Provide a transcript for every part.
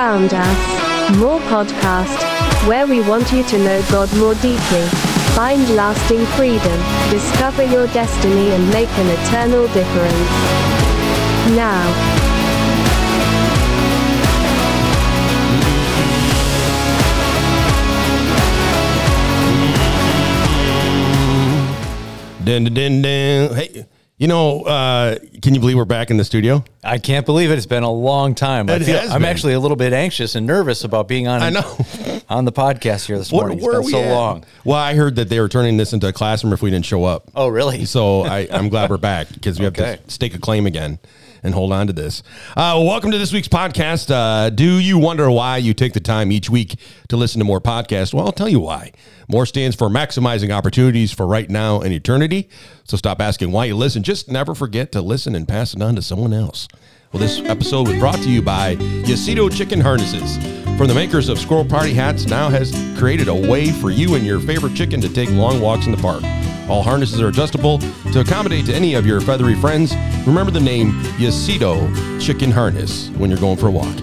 found us. More Podcast, where we want you to know God more deeply, find lasting freedom, discover your destiny, and make an eternal difference. Now, Dun, dun, dun, dun. Hey, can you believe we're back in the studio? I can't believe it. It's been a long time. I'm actually a little bit anxious and nervous about being on the podcast here this morning. It's been so long. Well, I heard that they were turning this into a classroom if we didn't show up. Oh, really? So I'm glad we're back because we have to stake a claim again and hold on to this. Welcome to this week's podcast. Do you wonder why you take the time each week to listen to more podcasts? Well, I'll tell you why. More stands for maximizing opportunities for right now and eternity. So stop asking why you listen. Just never forget to listen and pass it on to someone else. Well, this episode was brought to you by Yacito Chicken Harnesses. From the makers of Squirrel Party hats, now has created a way for you and your favorite chicken to take long walks in the park. All harnesses are adjustable to accommodate to any of your feathery friends. Remember the name Yacito Chicken Harness when you're going for a walk.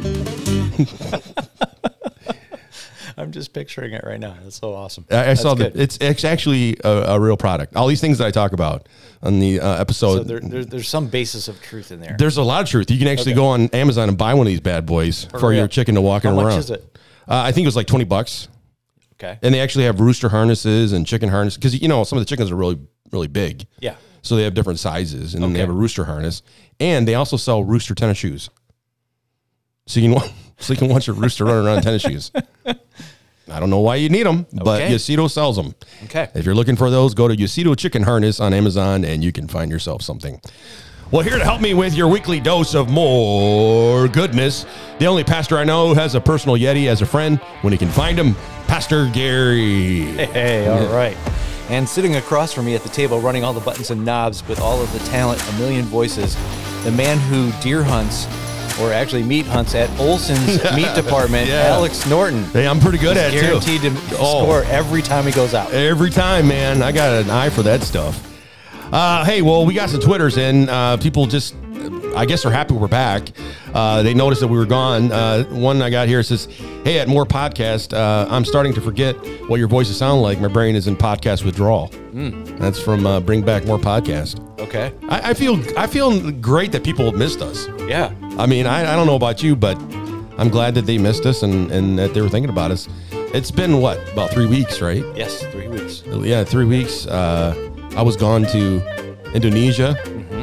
I'm just picturing it right now. That's so awesome. I saw that it's actually a real product. All these things that I talk about on the episode. So there's some basis of truth in there. There's a lot of truth. You can actually go on Amazon and buy one of these bad boys for your chicken to walk around. How much is it? I think it was like $20. Okay. And they actually have rooster harnesses and chicken harnesses because, some of the chickens are really, really big. Yeah. So they have different sizes, and then they have a rooster harness. And they also sell rooster tennis shoes. So you can watch your rooster running around in tennis shoes. I don't know why you need them, but Yacito sells them. Okay. If you're looking for those, go to Yacito Chicken Harness on Amazon, and you can find yourself something. Well, here to help me with your weekly dose of more goodness, the only pastor I know who has a personal Yeti as a friend when he can find him, Pastor Gary. Hey, all right. And sitting across from me at the table, running all the buttons and knobs with all of the talent, a million voices, the man who deer hunts, or actually meat hunts at Olson's Meat Department, Alex Norton. Hey, I'm pretty good at it, too. Guaranteed to score every time he goes out. Every time, man. I got an eye for that stuff. Hey, well, we got some Twitters, and people just, I guess, are happy we're back. They noticed that we were gone. One I got here says, hey, at More Podcast, I'm starting to forget what your voices sound like. My brain is in podcast withdrawal. That's from Bring Back More Podcast. Okay. I feel great that people missed us. Yeah. I mean, I don't know about you, but I'm glad that they missed us and that they were thinking about us. It's been, about 3 weeks, right? Yes, 3 weeks. Yeah, 3 weeks. I was gone to Indonesia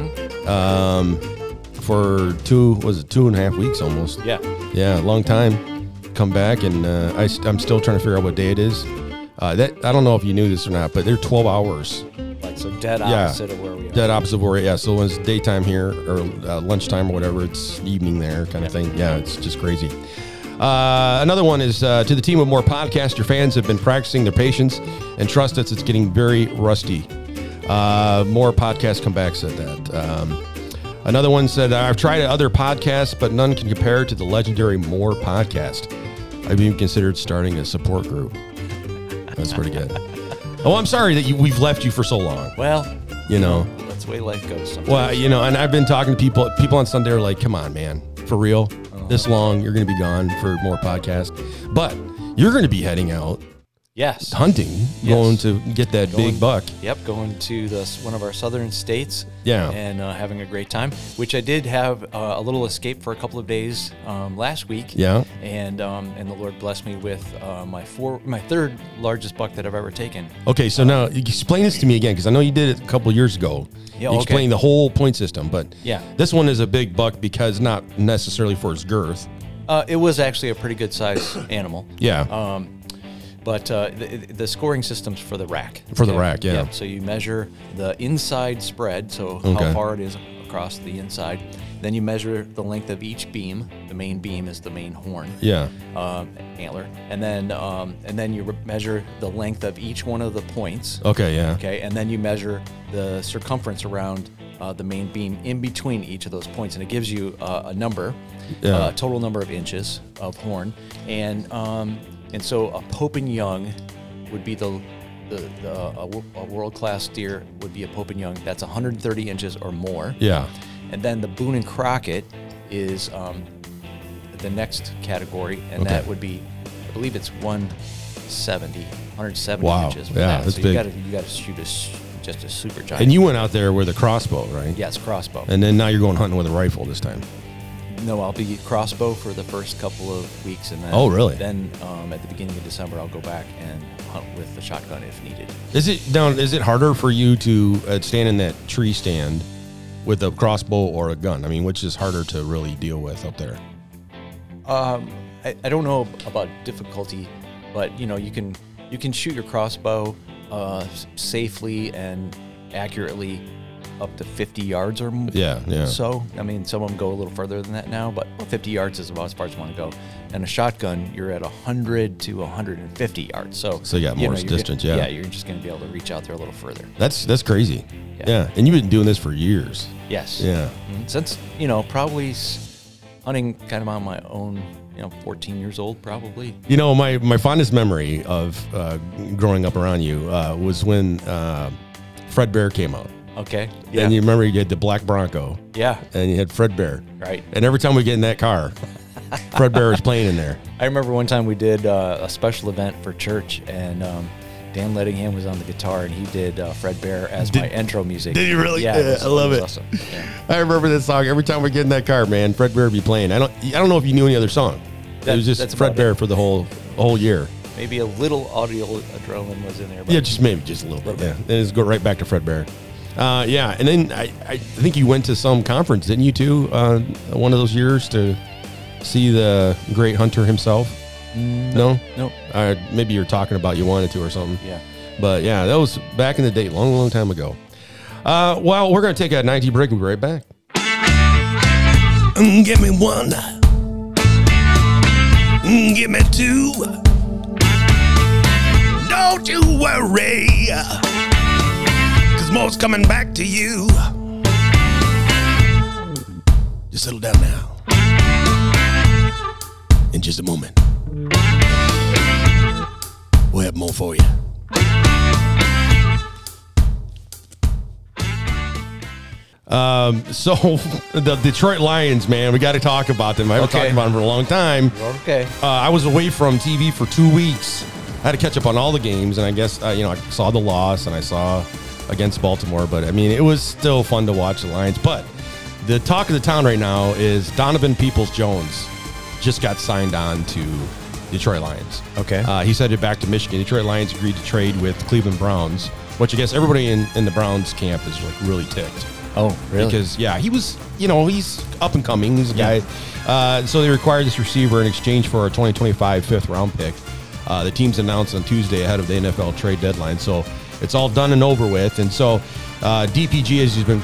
for 2.5 weeks almost. Yeah. Yeah, long time. Come back, and I'm still trying to figure out what day it is. I don't know if you knew this or not, but they're 12 hours. So dead opposite of where we are. Dead opposite of where, so when it's daytime here or lunchtime or whatever, it's evening there kind of thing. Yeah, it's just crazy. Another one is to the team with More Podcast. Your fans have been practicing their patience and trust us. It's getting very rusty. More Podcast comeback said that. Another one said, I've tried other podcasts, but none can compare to the legendary More Podcast. I've even considered starting a support group. That's pretty good. Oh, I'm sorry that we've left you for so long. Well, that's the way life goes sometimes. Well, and I've been talking to people on Sunday are like, come on, man, for real? This long, you're going to be gone for More Podcast. But you're going to be heading out. Yes. Hunting, going to get that big buck. Yep, going to one of our southern states. Yeah. And having a great time, which I did have a little escape for a couple of days last week. Yeah. And the Lord blessed me with my third largest buck that I've ever taken. Okay, so now explain this to me again, because I know you did it a couple of years ago. Yeah, you explained the whole point system, but this one is a big buck because not necessarily for its girth. It was actually a pretty good size animal. Yeah. But the scoring system's for the rack. For the rack, yeah. Yep. So you measure the inside spread, so how far it is across the inside. Then you measure the length of each beam. The main beam is the main horn. Yeah. Antler. And then you measure the length of each one of the points. Okay, yeah. Okay, and then you measure the circumference around the main beam in between each of those points, and it gives you a number, total number of inches of horn, and so a Pope and Young would be a world-class deer would be a Pope and Young. That's 130 inches or more. Yeah. And then the Boone and Crockett is the next category, and that would be, I believe it's 170 inches. Yeah, that's so big. You got to shoot just a super giant. And you went out there with a crossbow, right? Yes, crossbow. And then now you're going hunting with a rifle this time. No, I'll be crossbow for the first couple of weeks, and then really? Then at the beginning of December, I'll go back and hunt with the shotgun if needed. Is it harder for you to stand in that tree stand with a crossbow or a gun? I mean, which is harder to really deal with up there? I don't know about difficulty, but you can shoot your crossbow safely and accurately up to 50 yards or more. Yeah. So, I mean, some of them go a little further than that now, but 50 yards is about as far as you want to go. And a shotgun, you're at 100 to 150 yards. So you got more distance, Yeah, you're just going to be able to reach out there a little further. That's crazy. Yeah. And you've been doing this for years. Yes. Yeah. Since, probably hunting kind of on my own, 14 years old, probably. My fondest memory of growing up around you was when Fred Bear came out. Okay. Yeah. And you remember you had the black Bronco. Yeah. And you had Fred Bear. Right. And every time we get in that car, Fred Bear was playing in there. I remember one time we did a special event for church, and Dan Lettingham was on the guitar, and he did Fred Bear as my intro music. Did he really? Yeah, I love it. Awesome. Yeah. I remember this song. Every time we get in that car, man, Fred Bear would be playing. I don't know if you knew any other song. It was just Fred Bear for the whole year. Maybe a little audio adrenaline was in there. But yeah, just a little bit. Yeah, and just go right back to Fred Bear. Yeah, and then I think you went to some conference, didn't you, too? One of those years to see the great hunter himself? No? Maybe you're talking about you wanted to or something. Yeah. But, yeah, that was back in the day, long, long time ago. Well, we're going to take a 90 break. We'll be right back. Give me one. Give me two. Don't you worry. More's coming back to you. Just settle down now. In just a moment, we'll have more for you. So the Detroit Lions, man, we got to talk about them. I haven't talked about them for a long time. Okay. I was away from TV for 2 weeks. I had to catch up on all the games, and I guess I saw the loss and I saw against Baltimore, but I mean, it was still fun to watch the Lions. But the talk of the town right now is Donovan Peoples-Jones just got signed on to Detroit Lions. Okay. He's headed back to Michigan. Detroit Lions agreed to trade with Cleveland Browns, which I guess everybody in the Browns camp is like really ticked. Oh, really? Because he was, he's up and coming. He's a guy. So they required this receiver in exchange for a 2025 fifth round pick. The team's announced on Tuesday ahead of the NFL trade deadline. So it's all done and over with, and so DPJ,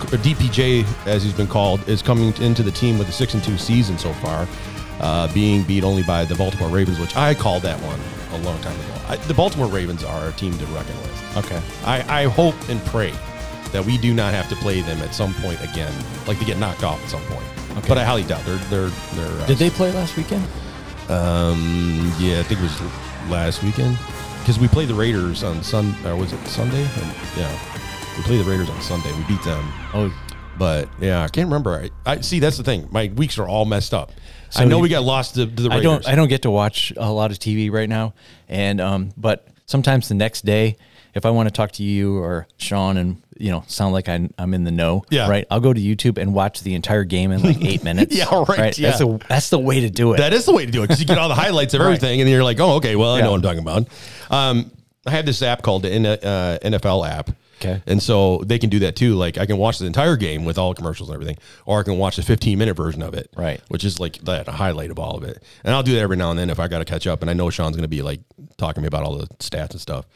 as he's been called, is coming into the team with a 6-2 season so far, being beat only by the Baltimore Ravens, which I called that one a long time ago. The Baltimore Ravens are a team to reckon with. Okay. I hope and pray that we do not have to play them at some point again, like they get knocked off at some point. Okay. But I highly doubt they're. Did they play last weekend? Yeah, I think it was last weekend. Because we played the Raiders on was it Sunday? Yeah, we played the Raiders on Sunday. We beat them. Oh, but yeah, I can't remember. I see. That's the thing. My weeks are all messed up. So I know we got lost to the Raiders. I don't get to watch a lot of TV right now, and but sometimes the next day, if I want to talk to you or Sean and sound like I'm in the know, right? I'll go to YouTube and watch the entire game in like 8 minutes. Yeah, right. Yeah. That's the way to do it. That is the way to do it because you get all the highlights of everything, and then you're like, oh, okay, well, I know what I'm talking about. I have this app called the NFL app. Okay. And so they can do that too. Like I can watch the entire game with all commercials and everything, or I can watch the 15-minute version of it. Right. Which is like that, a highlight of all of it. And I'll do that every now and then if I got to catch up. And I know Sean's going to be like talking to me about all the stats and stuff.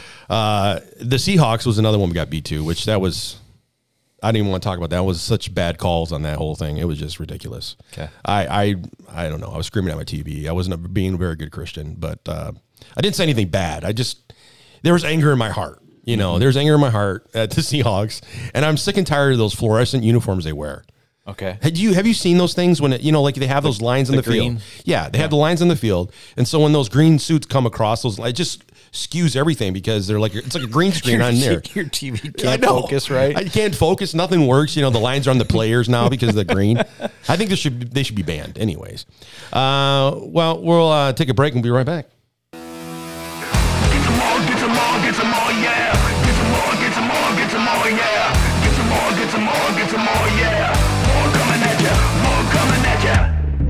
The Seahawks was another one we got beat to, which that was, I didn't even want to talk about that. It was such bad calls on that whole thing. It was just ridiculous. Okay. I don't know. I was screaming at my TV. I wasn't being a very good Christian, but I didn't say anything bad. There was anger in my heart. There's anger in my heart at the Seahawks, and I'm sick and tired of those fluorescent uniforms they wear. Okay. Have you seen those things when like they have those lines in the field? Yeah, they have the lines in the field, and so when those green suits come across those, skews everything because they're like it's like a green screen on there. Your TV can't focus, right? I can't focus. Nothing works. The lines are on the players now because of the green. I think they should be banned, anyways. Well, we'll take a break and be right back. Get some more, get some more, get some more, yeah. Get some more, get some more, get some more, yeah. Get some more, get some more, get some more, yeah. More coming at ya, more coming at ya.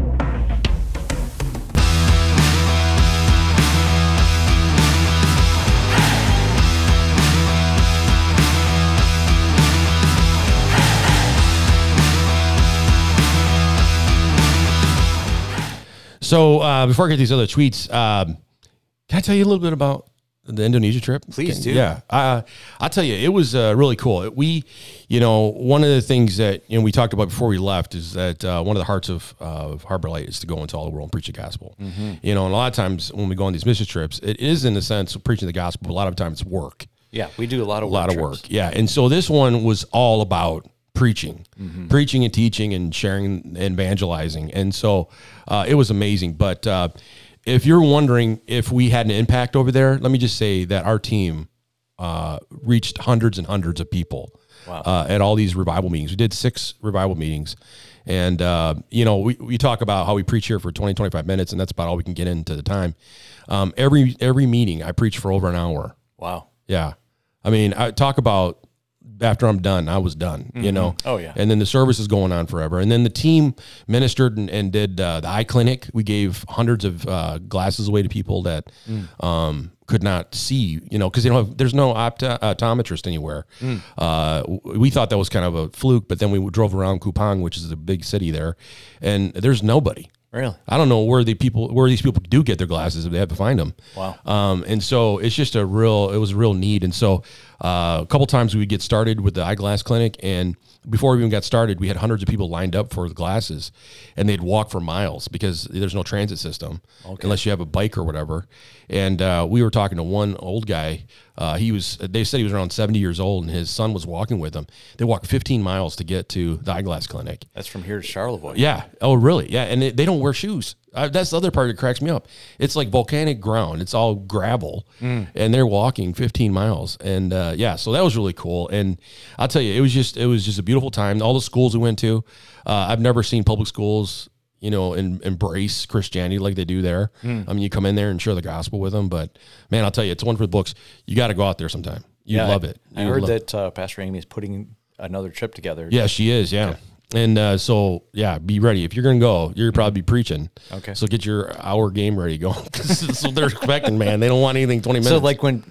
So before I get these other tweets, can I tell you a little bit about the Indonesia trip? Please do. Yeah. I'll tell you, it was really cool. We, one of the things that we talked about before we left is that one of the hearts of Harbor Light is to go into all the world and preach the gospel. Mm-hmm. And a lot of times when we go on these mission trips, it is in a sense of preaching the gospel, but a lot of times it's work. Yeah, we do a lot of work. Yeah. And so this one was all about preaching and teaching and sharing and evangelizing. And so it was amazing. But if you're wondering if we had an impact over there, let me just say that our team reached hundreds and hundreds of people at all these revival meetings. We did 6 revival meetings. And, we talk about how we preach here for 20, 25 minutes, and that's about all we can get into the time. Every meeting, I preach for over an hour. Wow. Yeah. I mean, I talk about after I'm done, I was done, Oh, yeah. And then the service is going on forever. And then the team ministered and did the eye clinic. We gave hundreds of glasses away to people that could not see, because there's no optometrist anywhere. We thought that was kind of a fluke, but then we drove around Kupang, which is a big city there, and there's nobody. Really? I don't know where these people do get their glasses if they have to find them. Wow. And so it's just it was a real need. And so a couple times we would get started with the eyeglass clinic, and before we even got started, we had hundreds of people lined up for the glasses, and they'd walk for miles because there's no transit system unless you have a bike or whatever. And we were talking to one old guy. They said he was around 70 years old, and his son was walking with him. They walked 15 miles to get to the eyeglass clinic. That's from here to Charlevoix. Yeah. Oh, really? Yeah. And they don't wear shoes. That's the other part that cracks me up. It's like volcanic ground. It's all gravel, and they're walking 15 miles. And so that was really cool. And I'll tell you, it was just a beautiful time. All the schools we went to, I've never seen public schools, embrace Christianity like they do there. I mean, you come in there and share the gospel with them. But man, I'll tell you, it's one for the books. You got to go out there sometime. You love it. I heard that Pastor Amy is putting another trip together. Yeah, she is. Yeah. Okay. And be ready. If you're going to go, you're probably preaching. Okay. So get your hour game ready going. That's what they're expecting, man. They don't want anything 20 minutes. So like when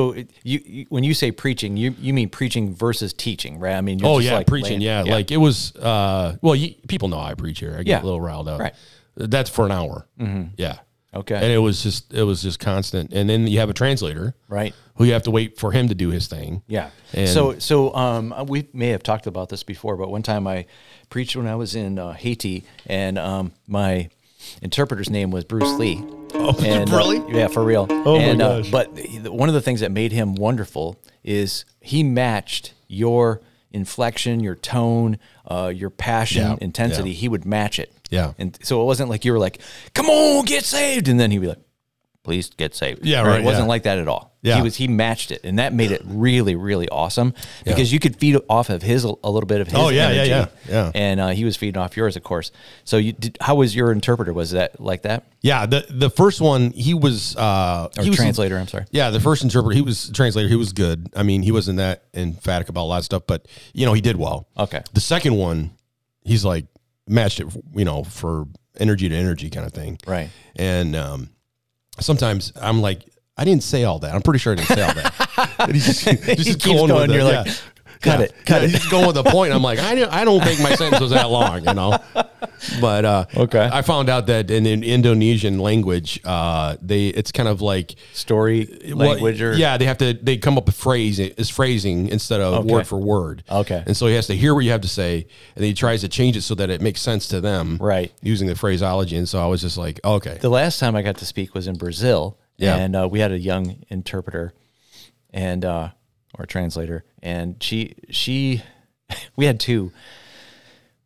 you say preaching, you mean preaching versus teaching, right? I mean, you're preaching. Like it was, people know I preach here. I get a little riled up. Right. That's for an hour. Mm-hmm. Yeah. Okay. And it was just constant. And then you have a translator. Right. Who you have to wait for him to do his thing. Yeah. And so we may have talked about this before, but one time I preached when I was in Haiti, and my interpreter's name was Bruce Lee. Oh, and, really? Yeah, for real. Oh, my gosh. But one of the things that made him wonderful is he matched your inflection, your tone, your passion, intensity. He would match it. Yeah. And so it wasn't like you were like, come on, get saved. And then he'd be like, please get saved. Yeah, right. It wasn't like that at all. Yeah. He matched it, and that made it really, really awesome because you could feed off of his a little bit of his energy. Yeah. And he was feeding off yours, of course. So how was your interpreter? Was that like that? Yeah, the first one, he was translator, I'm sorry. Yeah, the first interpreter, he was translator, he was good. I mean, he wasn't that emphatic about a lot of stuff, but he did well. Okay. The second one, he's like matched it, for energy to energy kind of thing. Right. And sometimes I'm like, I didn't say all that. I'm pretty sure I didn't say all that. And he just keeps going. You're like, cut it. He's just going with the point. I'm like, I don't think my sentence was that long, But okay. I found out that in Indonesian language, it's kind of like story language, or they come up with phrasing instead of word for word. Okay. And so he has to hear what you have to say, and he tries to change it so that it makes sense to them, right? Using the phraseology. And so I was just like, okay. The last time I got to speak was in Brazil. Yeah. And we had a young interpreter and or translator, and she we had two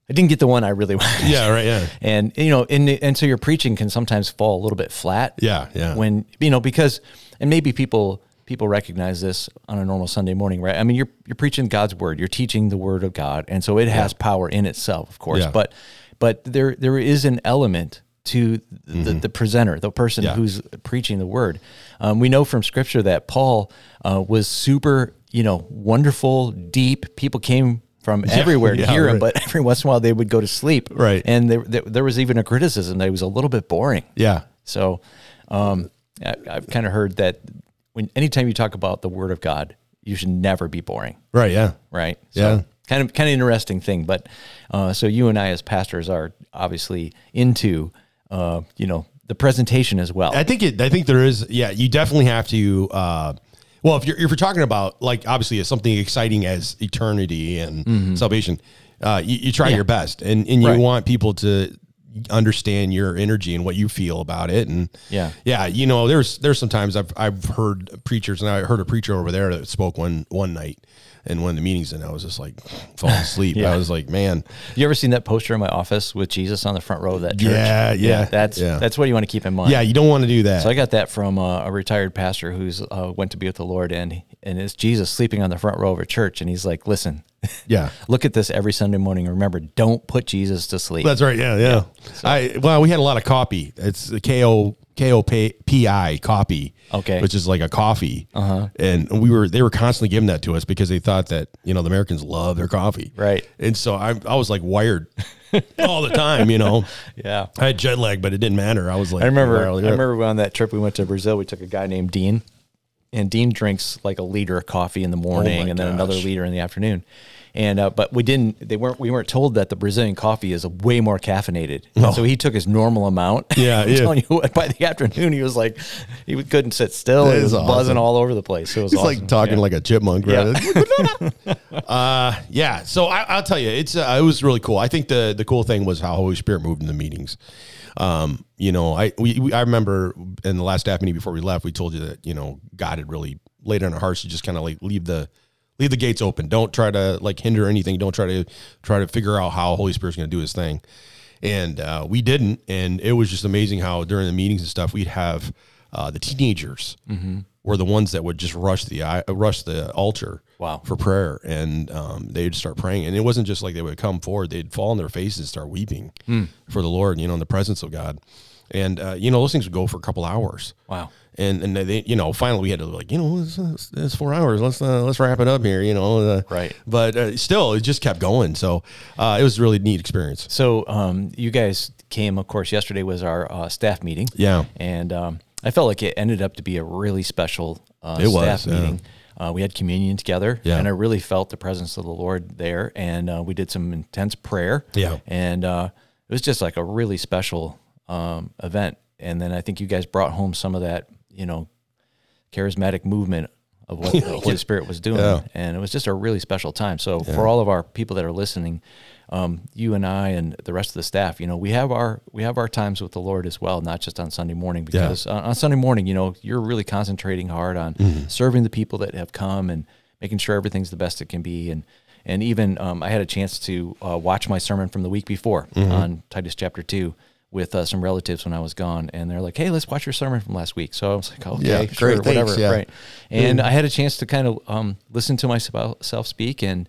I didn't get the one I really wanted. Yeah, right, yeah. And, you know, and so your preaching can sometimes fall a little bit flat. Yeah, yeah. When, you know, because, and maybe people recognize this on a normal Sunday morning, right? I mean, you're preaching God's word, you're teaching the word of God. And so it has power in itself, of course, Yeah. but there is an element to the presenter, the person who's preaching the word. We know from scripture that Paul was super, you know, wonderful, deep. People came from everywhere to hear him, but every once in a while they would go to sleep. Right. And there was even a criticism that he was a little bit boring. Yeah. So I've kind of heard that anytime you talk about the word of God, you should never be boring. Right, yeah. Right. Yeah. So kind of interesting thing. But so you and I as pastors are obviously into, you know, the presentation as well. I think there is, you definitely have to, well, if you're talking about, like, obviously it's something exciting as eternity and salvation, you try your best and you want people to understand your energy and what you feel about it. And you know, there's sometimes I've heard preachers, and I heard a preacher over there that spoke one night in one of the meetings, and I was just like falling asleep. I was like, man. You ever seen that poster in my office with Jesus on the front row of that church? Yeah. That's what you want to keep in mind. Yeah, you don't want to do that. So I got that from a retired pastor who's went to be with the Lord, and it's Jesus sleeping on the front row of a church, and he's like, listen, look at this every Sunday morning. Remember, don't put Jesus to sleep. That's right. Yeah. So. We had a lot of copy. It's the KOPI copy. Okay. Which is like a coffee. And they were constantly giving that to us because they thought that, you know, the Americans love their coffee. Right. And so I was like wired all the time, you know. Yeah. I had jet lag, but it didn't matter. I was like, I remember on that trip we went to Brazil, we took a guy named Dean, and Dean drinks like a liter of coffee in the morning and then another liter in the afternoon. And but we weren't told that the Brazilian coffee is way more caffeinated. So he took his normal amount. Yeah, I'm telling you what, by the afternoon he was like, he couldn't sit still. He was buzzing all over the place. It was awesome. Like talking like a chipmunk. Right? So I'll tell you, it was really cool. I think the cool thing was how Holy Spirit moved in the meetings. You know, I remember in the last staff meeting before we left, we told you that, you know, God had really laid on our hearts to just kind of like leave the gates open. Don't try to like hinder anything. Don't try to figure out how Holy Spirit's going to do his thing. And we didn't. And it was just amazing how during the meetings and stuff, we'd have the teenagers were the ones that would just rush the altar for prayer. And they'd start praying. And it wasn't just like they would come forward. They'd fall on their faces and start weeping for the Lord, you know, in the presence of God. And, you know, those things would go for a couple hours. Wow. And they, you know, finally we had to like, you know, it's 4 hours. Let's wrap it up here, you know. Right. But still, it just kept going. So it was a really neat experience. So you guys came, of course, yesterday was our staff meeting. Yeah. And I felt like it ended up to be a really special staff meeting. We had communion together, and I really felt the presence of the Lord there. And we did some intense prayer. Yeah. And it was just like a really special event. And then I think you guys brought home some of that, you know, charismatic movement of what the Holy Spirit was doing. Yeah. And it was just a really special time. So for all of our people that are listening, you and I and the rest of the staff, you know, we have our times with the Lord as well, not just on Sunday morning, because on Sunday morning, you know, you're really concentrating hard on serving the people that have come and making sure everything's the best it can be. And even I had a chance to watch my sermon from the week before on Titus chapter 2 with some relatives when I was gone, and they're like, "Hey, let's watch your sermon from last week." So I was like, "Okay, sure, great, thanks, whatever." Right. And I had a chance to kind of listen to myself speak, and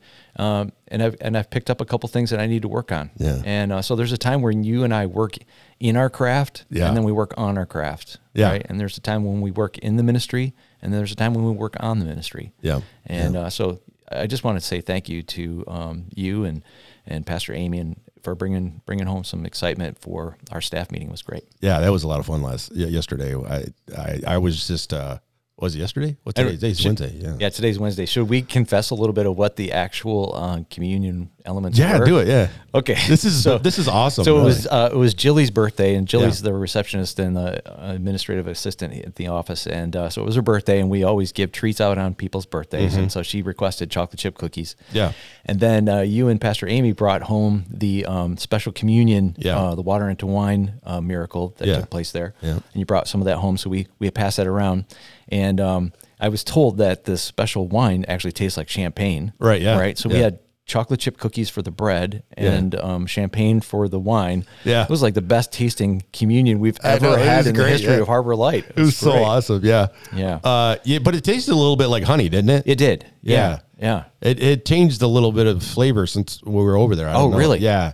I've picked up a couple things that I need to work on. Yeah. And so there's a time when you and I work in our craft, and then we work on our craft. Yeah. Right. And there's a time when we work in the ministry, and there's a time when we work on the ministry. Yeah. And so I just want to say thank you to you and Pastor Amy and for bringing home some excitement for our staff meeting. It was great. Yeah, that was a lot of fun yesterday. I was just was it yesterday? What today? Today's Wednesday. Yeah, today's Wednesday. Should we confess a little bit of what the actual communion elements were? Yeah, do it. Yeah. Okay. This is awesome. So it was Jilly's birthday, and Jilly's the receptionist and the administrative assistant at the office, and so it was her birthday, and we always give treats out on people's birthdays, and so she requested chocolate chip cookies. Yeah. And then you and Pastor Amy brought home the special communion, the water into wine miracle that took place there. Yeah. And you brought some of that home, so we passed that around. And I was told that this special wine actually tastes like champagne. Right, yeah. Right. So Yeah. we had chocolate chip cookies for the bread and champagne for the wine. Yeah. It was like the best tasting communion we've ever had in the history of Harbor Light. It was so awesome. Yeah. Yeah. But it tasted a little bit like honey, didn't it? It did. Yeah. Yeah. It changed a little bit of flavor since we were over there. I don't know. Really? Yeah.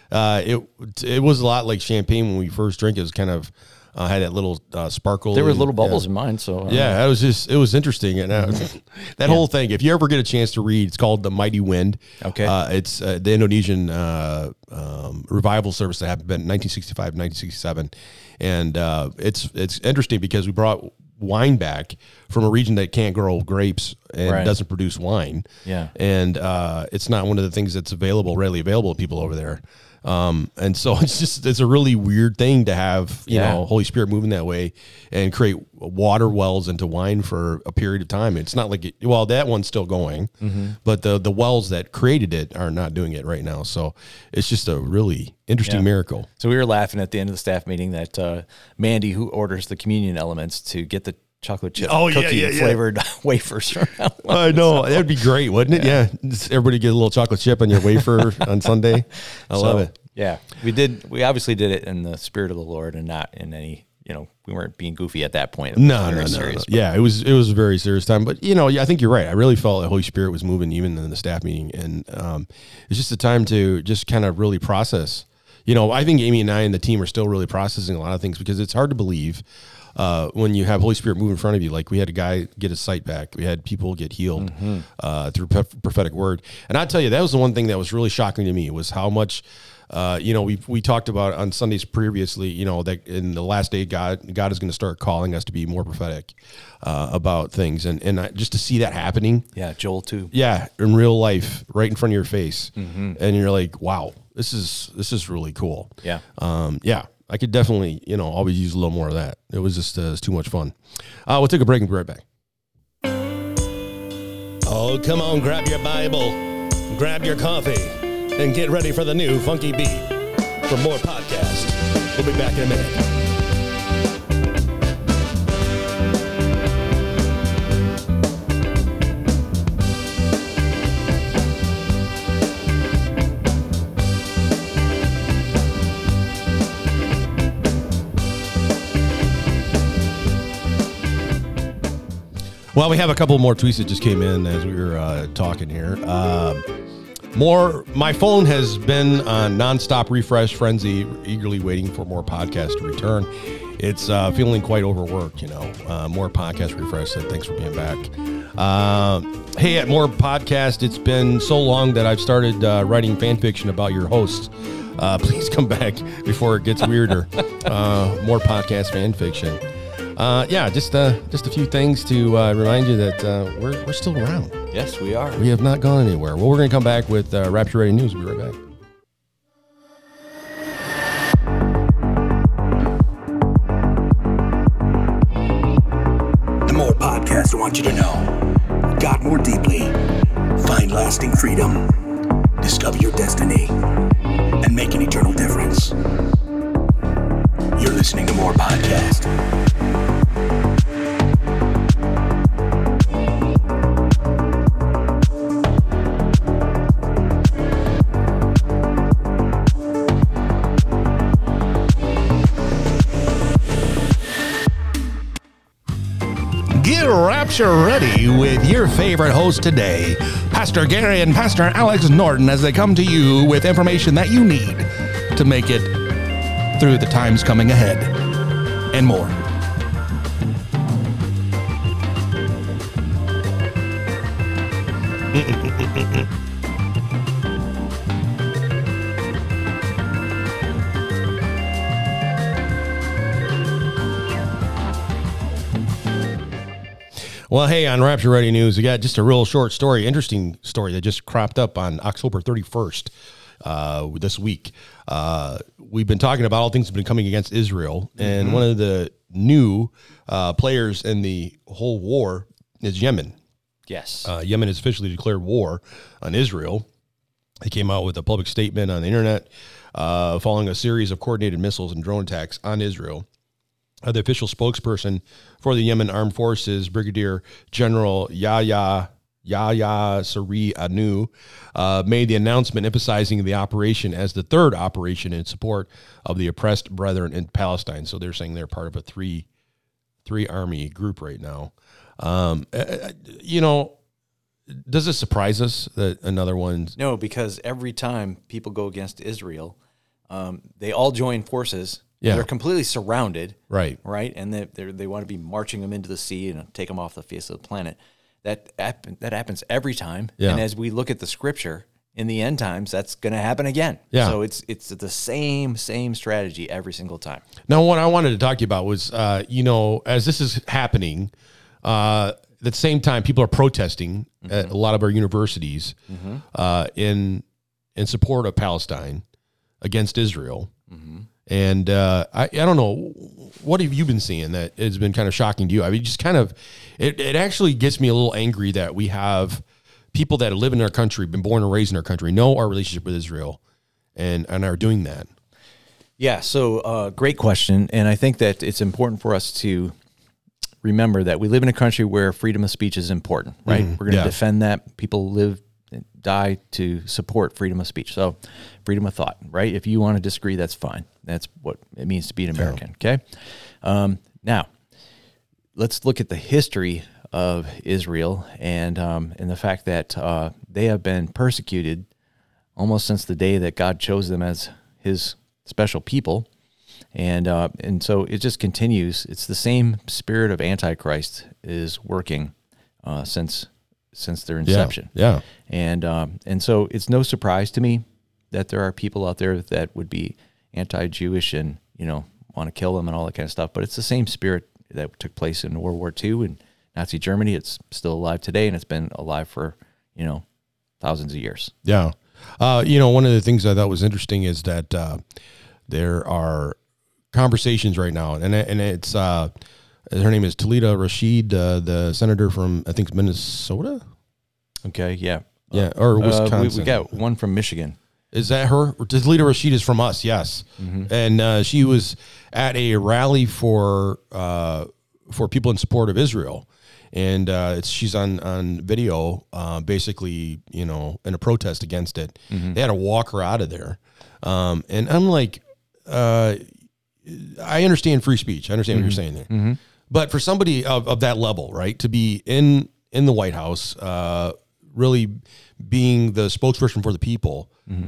It was a lot like champagne when we first drank it. It was kind of had that little sparkle. There were little bubbles in mine. So it was interesting. And that whole thing, if you ever get a chance to read, it's called The Mighty Wind. Okay. It's the Indonesian revival service that happened in 1965, 1967. And it's interesting because we brought wine back from a region that can't grow grapes and doesn't produce wine. Yeah. And it's not one of the things that's readily available to people over there. And so it's a really weird thing to have, you know, Holy Spirit moving that way and create water wells into wine for a period of time. It's not like that one's still going, but the wells that created it are not doing it right now. So it's just a really interesting miracle. So we were laughing at the end of the staff meeting that Mandy, who orders the communion elements, to get the chocolate chip cookie flavored wafers. I know. That'd be great, wouldn't it? Yeah. Just everybody get a little chocolate chip on your wafer on Sunday. I love it. Yeah. We obviously did it in the spirit of the Lord and not in any, we weren't being goofy at that point. No. Serious, yeah, it was a very serious time. But, I think you're right. I really felt the Holy Spirit was moving even in the staff meeting. And it's just a time to just kind of really process. I think Amy and I and the team are still really processing a lot of things because it's hard to believe when you have Holy Spirit move in front of you. Like we had a guy get his sight back. We had people get healed through prophetic word. And I tell you, that was the one thing that was really shocking to me was how much, we talked about on Sundays previously, that in the last day, God is going to start calling us to be more prophetic about things. And just to see that happening. Yeah. Joel 2. Yeah. In real life, right in front of your face. And you're like, wow, this is really cool. Yeah. I could definitely, always use a little more of that. It was just it's too much fun. We'll take a break and be right back. Oh, come on, grab your Bible, grab your coffee, and get ready for the new Funky Beat. For more podcasts, we'll be back in a minute. Well, we have a couple more tweets that just came in as we were talking here. My phone has been on nonstop refresh frenzy, eagerly waiting for more podcasts to return. It's feeling quite overworked, more podcast refresh. So thanks for being back. Hey, at More Podcast, it's been so long that I've started writing fan fiction about your hosts. Please come back before it gets weirder. More podcast fan fiction. Just a few things to remind you that we're still around. Yes, we are. We have not gone anywhere. Well, we're going to come back with Rapture Ready News. We'll be right back. The More Podcast wants you to know God more deeply, find lasting freedom, discover your destiny, and make an eternal difference. You're listening to More Podcast. Get Rapture ready with your favorite host today, Pastor Gary and Pastor Alex Norton, as they come to you with information that you need to make it through the times coming ahead and more. Well, hey, on Rapture Ready News, we got just a real short story, interesting story that just cropped up on October 31st this week. We've been talking about all things that have been coming against Israel, and one of the new players in the whole war is Yemen. Yes. Yemen has officially declared war on Israel. They came out with a public statement on the internet following a series of coordinated missiles and drone attacks on Israel. The official spokesperson for the Yemen Armed Forces, Brigadier General Yahya Yahya Saree Anu made the announcement emphasizing the operation as the third operation in support of the oppressed brethren in Palestine. So they're saying they're part of a three army group right now. Does it surprise us that another one? No, because every time people go against Israel, they all join forces. Yeah. They're completely surrounded. Right. And they want to be marching them into the sea and take them off the face of the planet. That happens every time. Yeah. And as we look at the scripture, in the end times, that's going to happen again. Yeah. So it's the same strategy every single time. Now, what I wanted to talk to you about was, as this is happening, at the same time, people are protesting at a lot of our universities in support of Palestine against Israel. And I don't know, what have you been seeing that has been kind of shocking to you? I mean, just kind of, it actually gets me a little angry that we have people that live in our country, been born and raised in our country, know our relationship with Israel and are doing that. Yeah, so great question. And I think that it's important for us to remember that we live in a country where freedom of speech is important, right? We're going to defend that. People live and die to support freedom of speech. So freedom of thought, right? If you want to disagree, that's fine. That's what it means to be an American, okay? Now, let's look at the history of Israel and the fact that they have been persecuted almost since the day that God chose them as his special people. And so it just continues. It's the same spirit of Antichrist is working since their inception. Yeah. And so it's no surprise to me that there are people out there that would be anti-Jewish and, want to kill them and all that kind of stuff. But it's the same spirit that took place in World War II and Nazi Germany. It's still alive today, and it's been alive for, thousands of years. Yeah. One of the things I thought was interesting is that there are conversations right now, and it's her name is Talita Rashid, the senator from, I think, Minnesota. Okay, yeah. Yeah, or Wisconsin. We got one from Michigan. Is that her? Talita Rashid is from us, yes. And she was at a rally for people in support of Israel. And she's on video, basically, in a protest against it. They had to walk her out of there. And I'm like, I understand free speech. I understand what you're saying there. But for somebody of that level, right, to be in the White House, really being the spokesperson for the people,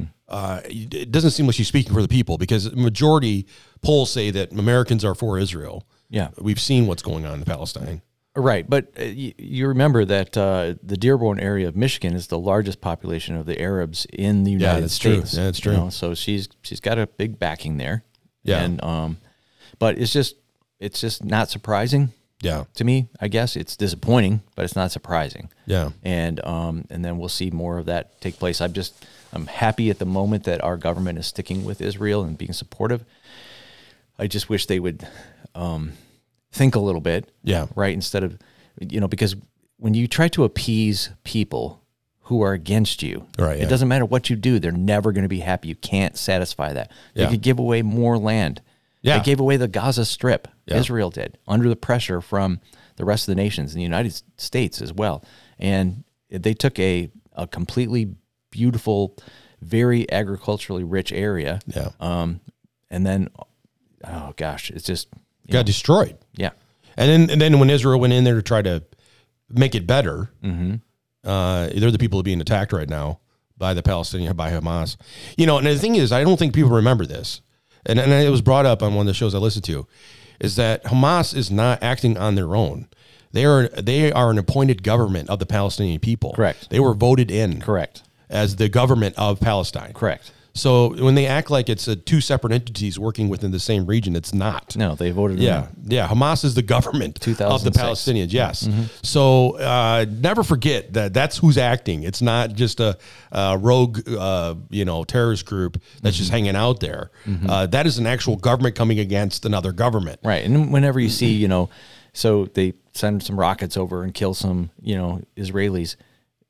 it doesn't seem like she's speaking for the people, because majority polls say that Americans are for Israel. Yeah. We've seen what's going on in Palestine. Right, but you remember that the Dearborn area of Michigan is the largest population of the Arabs in the United States. True. Yeah, that's true. So she's got a big backing there. Yeah. And but it's just not surprising. Yeah. To me, I guess it's disappointing, but it's not surprising. Yeah. And then we'll see more of that take place. I'm happy at the moment that our government is sticking with Israel and being supportive. I just wish they would think a little bit. Yeah. Right. Instead of, because when you try to appease people who are against you, right, it doesn't matter what you do. They're never going to be happy. You can't satisfy that. They could give away more land. Yeah. They gave away the Gaza Strip. Yeah. Israel did, under the pressure from the rest of the nations in the United States as well. And they took a completely beautiful, very agriculturally rich area. Yeah. And then, oh gosh, it's just got destroyed. Yeah. And then when Israel went in there to try to make it better, they're the people being attacked right now by the Palestinians, by Hamas. And the thing is, I don't think people remember this. And it was brought up on one of the shows I listened to, is that Hamas is not acting on their own. They are an appointed government of the Palestinian people. Correct. They were voted in. Correct. As the government of Palestine. Correct. So when they act like it's two separate entities working within the same region, it's not. No, they voted. Yeah. Hamas is the government of the Palestinians. Yes. So never forget that that's who's acting. It's not just a rogue, terrorist group that's just hanging out there. That is an actual government coming against another government. Right. And whenever you see, so they send some rockets over and kill some, Israelis,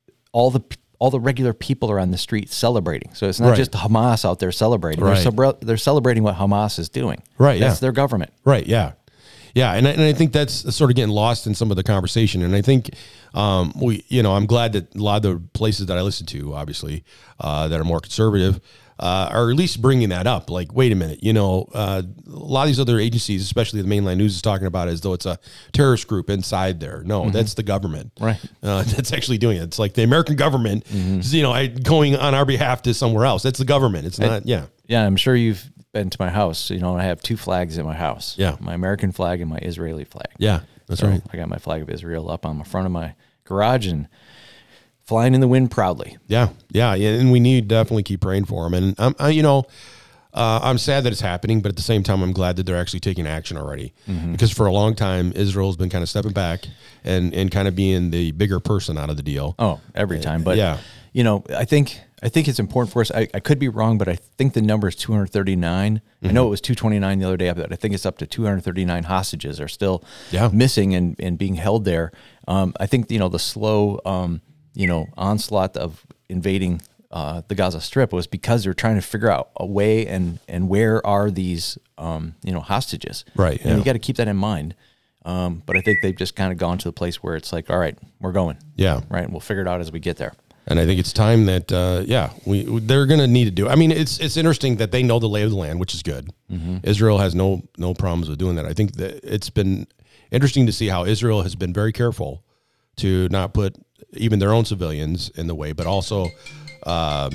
all the regular people are on the street celebrating. So it's not just Hamas out there celebrating. Right. They're celebrating what Hamas is doing. Right. That's their government. Right. Yeah. Yeah, and I think that's sort of getting lost in some of the conversation. And I think I'm glad that a lot of the places that I listen to, obviously, that are more conservative, are at least bringing that up. Like, wait a minute, a lot of these other agencies, especially the mainline news, is talking about it as though it's a terrorist group inside there. No, that's the government. Right. That's actually doing it. It's like the American government, going on our behalf to somewhere else. That's the government. It's not, Yeah, I'm sure you've been to my house. I have 2 flags in my house. Yeah. My American flag and my Israeli flag. Yeah, that's right. I got my flag of Israel up on the front of my garage and flying in the wind proudly. Yeah. And we need to definitely keep praying for them. And I'm sad that it's happening, but at the same time, I'm glad that they're actually taking action already. Because for a long time, Israel's been kind of stepping back and kind of being the bigger person out of the deal. Oh, every time. But yeah, I think it's important for us. I could be wrong, but I think the number is 239. I know it was 229 the other day, but I think it's up to 239 hostages are still missing and being held there. I think, the slow, onslaught of invading the Gaza Strip was because they're trying to figure out a way and where are these, hostages. Right. And you got to keep that in mind. But I think they've just kind of gone to the place where it's like, all right, we're going. Yeah. Right. And we'll figure it out as we get there. And I think it's time that, they're going to need to do. I mean, it's interesting that they know the lay of the land, which is good. Israel has no problems with doing that. I think that it's been interesting to see how Israel has been very careful to not put even their own civilians in the way, but also, my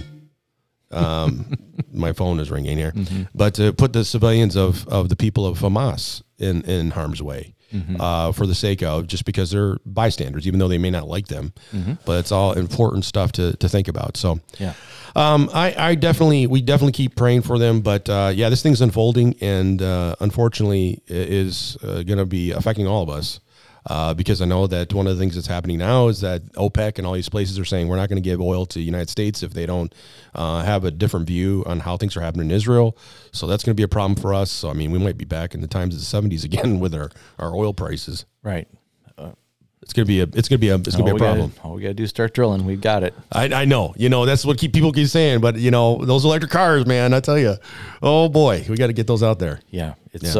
phone is ringing here, but to put the civilians of the people of Hamas in harm's way. For the sake of just because they're bystanders, even though they may not like them, but it's all important stuff to think about. So, we definitely keep praying for them. But this thing's unfolding, and unfortunately, it is going to be affecting all of us. Because I know that one of the things that's happening now is that OPEC and all these places are saying we're not going to give oil to the United States if they don't have a different view on how things are happening in Israel. So that's going to be a problem for us. So, I mean, we might be back in the times of the 70s again with our oil prices. Right. It's going to be a problem. All we got to do is start drilling. We've got it. I know. That's what people keep saying. But, those electric cars, man, I tell you, oh, boy, we got to get those out there. Yeah. It's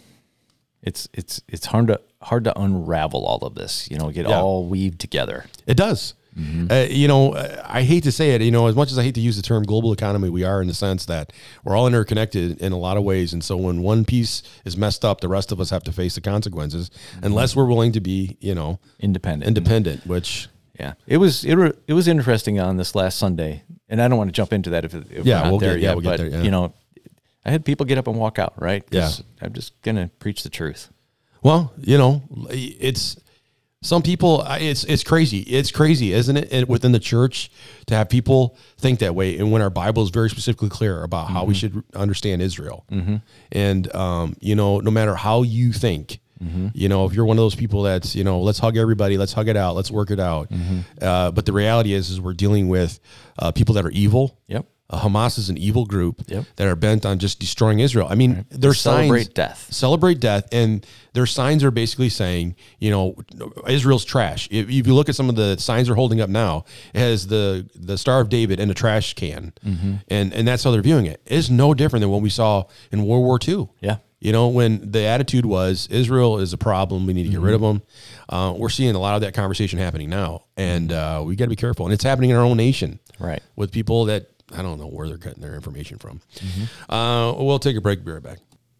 hard to unravel all of this, get all weaved together. It does. I hate to say it, as much as I hate to use the term global economy, we are in the sense that we're all interconnected in a lot of ways. And so when one piece is messed up, the rest of us have to face the consequences unless we're willing to be, independent, which. Yeah, it was interesting on this last Sunday, and I don't want to jump into that if we'll get there yet. But I had people get up and walk out, right? Yeah, I'm just gonna preach the truth. Well, it's some people. It's crazy. It's crazy, isn't it? And within the church, to have people think that way, and when our Bible is very specifically clear about how we should understand Israel, and no matter how you think. If you're one of those people that's, let's hug everybody, let's hug it out, let's work it out. But the reality is we're dealing with people that are evil. Yep. Hamas is an evil group that are bent on just destroying Israel. I mean, their signs celebrate death, and their signs are basically saying, Israel's trash. If you look at some of the signs they're holding up now, it has the Star of David in a trash can, and that's how they're viewing it. It's no different than what we saw in World War II. Yeah. When the attitude was Israel is a problem, we need to get rid of them. We're seeing a lot of that conversation happening now, and we got to be careful. And it's happening in our own nation, right? With people that I don't know where they're getting their information from. We'll take a break. Be right back.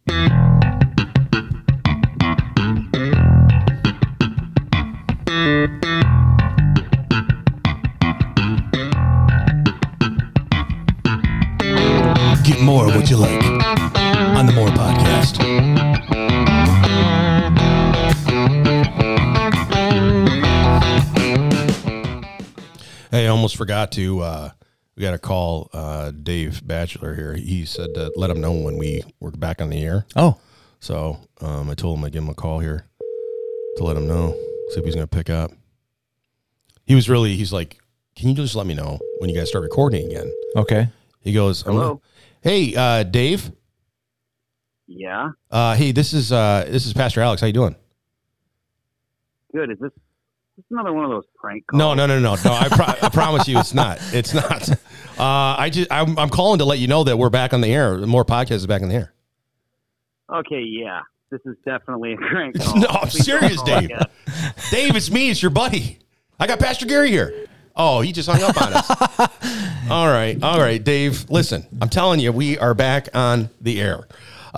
Get more of what you like on the More Podcast. Hey, I almost forgot to. We got to call Dave Batchelor here. He said to let him know when we were back on the air. Oh. So I told him I'd give him a call here to let him know, see if he's going to pick up. He's like, can you just let me know when you guys start recording again? Okay. He goes, hello. Hey, Dave. Yeah. Hey, this is Pastor Alex. How you doing? Good. Is this another one of those prank calls? No. I promise you, it's not. It's not. I'm calling to let you know that we're back on the air. The More Podcast is back on the air. Okay. Yeah. this is definitely a crank call. No, I'm serious, Dave. Dave, it's me. It's your buddy. I got Pastor Gary here. Oh, he just hung up on us. All right, Dave. Listen, I'm telling you, we are back on the air.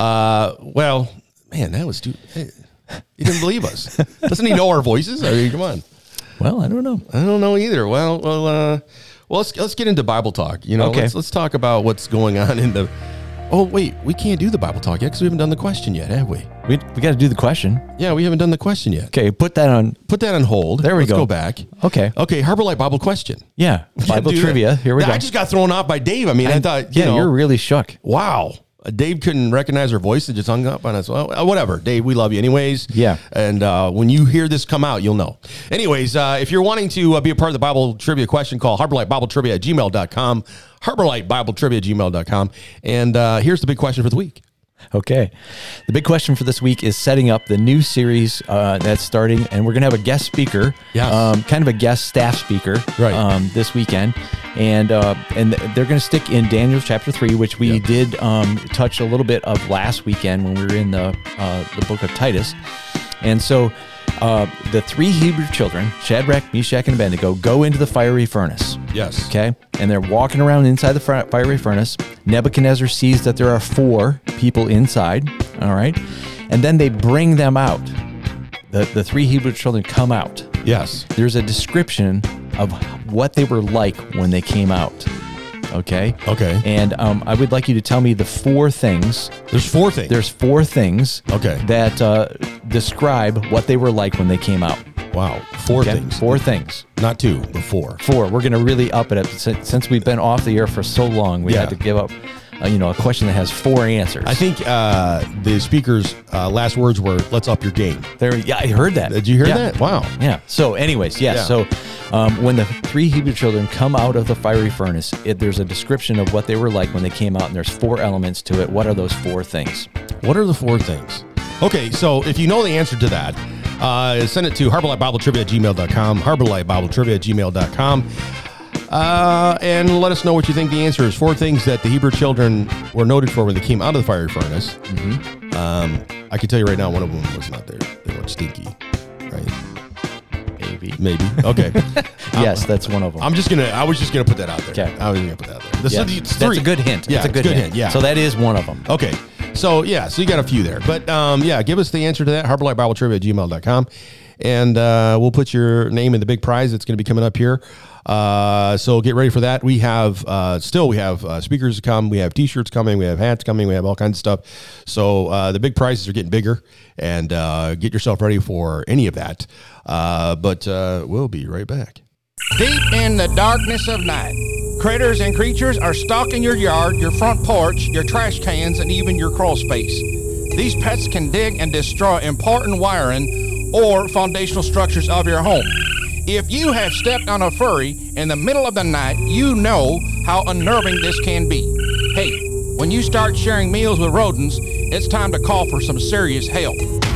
Well, man, that was too. Hey, he didn't believe us. Doesn't he know our voices? I mean, come on. Well, I don't know. I don't know either. Well, let's get into Bible talk. You know, okay. Let's talk about what's going on in the. Oh wait, we can't do the Bible talk yet because we haven't done the question yet, have we? We got to do the question. Yeah, we haven't done the question yet. Okay, put that on hold. There we Let's go back. Okay, Harbor Light Bible question. Yeah, Bible trivia. Here we go. I just got thrown off by Dave. I mean, I thought, you're really shook. Wow. Dave couldn't recognize her voice and just hung up on us. Well, whatever. Dave, we love you anyways. Yeah. And when you hear this come out, you'll know. Anyways, if you're wanting to be a part of the Bible trivia question, call HarborLightBibleTrivia@gmail.com. HarborLightBibleTrivia@gmail.com. And here's the big question for the week. Okay. The big question for this week is setting up the new series that's starting, and we're going to have a guest speaker, kind of a guest staff speaker this weekend. And they're going to stick in Daniel chapter 3, which we did touch a little bit of last weekend when we were in the book of Titus. And so the three Hebrew children, Shadrach, Meshach, and Abednego, go into the fiery furnace. Yes. Okay. And they're walking around inside the fiery furnace. Nebuchadnezzar sees that there are 4 people inside. All right. And then they bring them out. The three Hebrew children come out. Yes. There's a description of what they were like when they came out. Okay. Okay. And I would like you to tell me the 4 things. There's 4 things. There's 4 things. Okay. That describe what they were like when they came out. Wow. 4 things. 4 things. Not 2, but 4. 4. We're going to really up it up. Since we've been off the air for so long, we had to give up a question that has 4 answers. I think the speaker's last words were, let's up your game. I heard that. Did you hear that? Wow. Yeah. So anyways, So when the 3 Hebrew children come out of the fiery furnace, there's a description of what they were like when they came out, and there's 4 elements to it. What are those 4 things? What are the 4 things? Okay, so if you know the answer to that, send it to HarborLightBibleTrivia@gmail.com, HarborLightBibleTrivia@gmail.com. And let us know what you think the answer is. 4 things that the Hebrew children were noted for when they came out of the fiery furnace. Mm-hmm. I can tell you right now, one of them was not there. They weren't stinky, right? Maybe. Okay. Yes, that's one of them. I was just gonna put that out there. Okay. I was gonna put that out there. That's a good hint. Yeah, it's a good hint. Yeah. So that is one of them. Okay. So you got a few there, but give us the answer to that. HarborLightBibleTrivia@gmail.com, and we'll put your name in the big prize that's going to be coming up here. So get ready for that. We have speakers to come. We have T-shirts coming. We have hats coming. We have all kinds of stuff. So the big prizes are getting bigger, and get yourself ready for any of that. But we'll be right back. Deep in the darkness of night, critters and creatures are stalking your yard, your front porch, your trash cans, and even your crawl space. These pets can dig and destroy important wiring or foundational structures of your home. If you have stepped on a furry in the middle of the night, you know how unnerving this can be. Hey, when you start sharing meals with rodents, it's time to call for some serious help.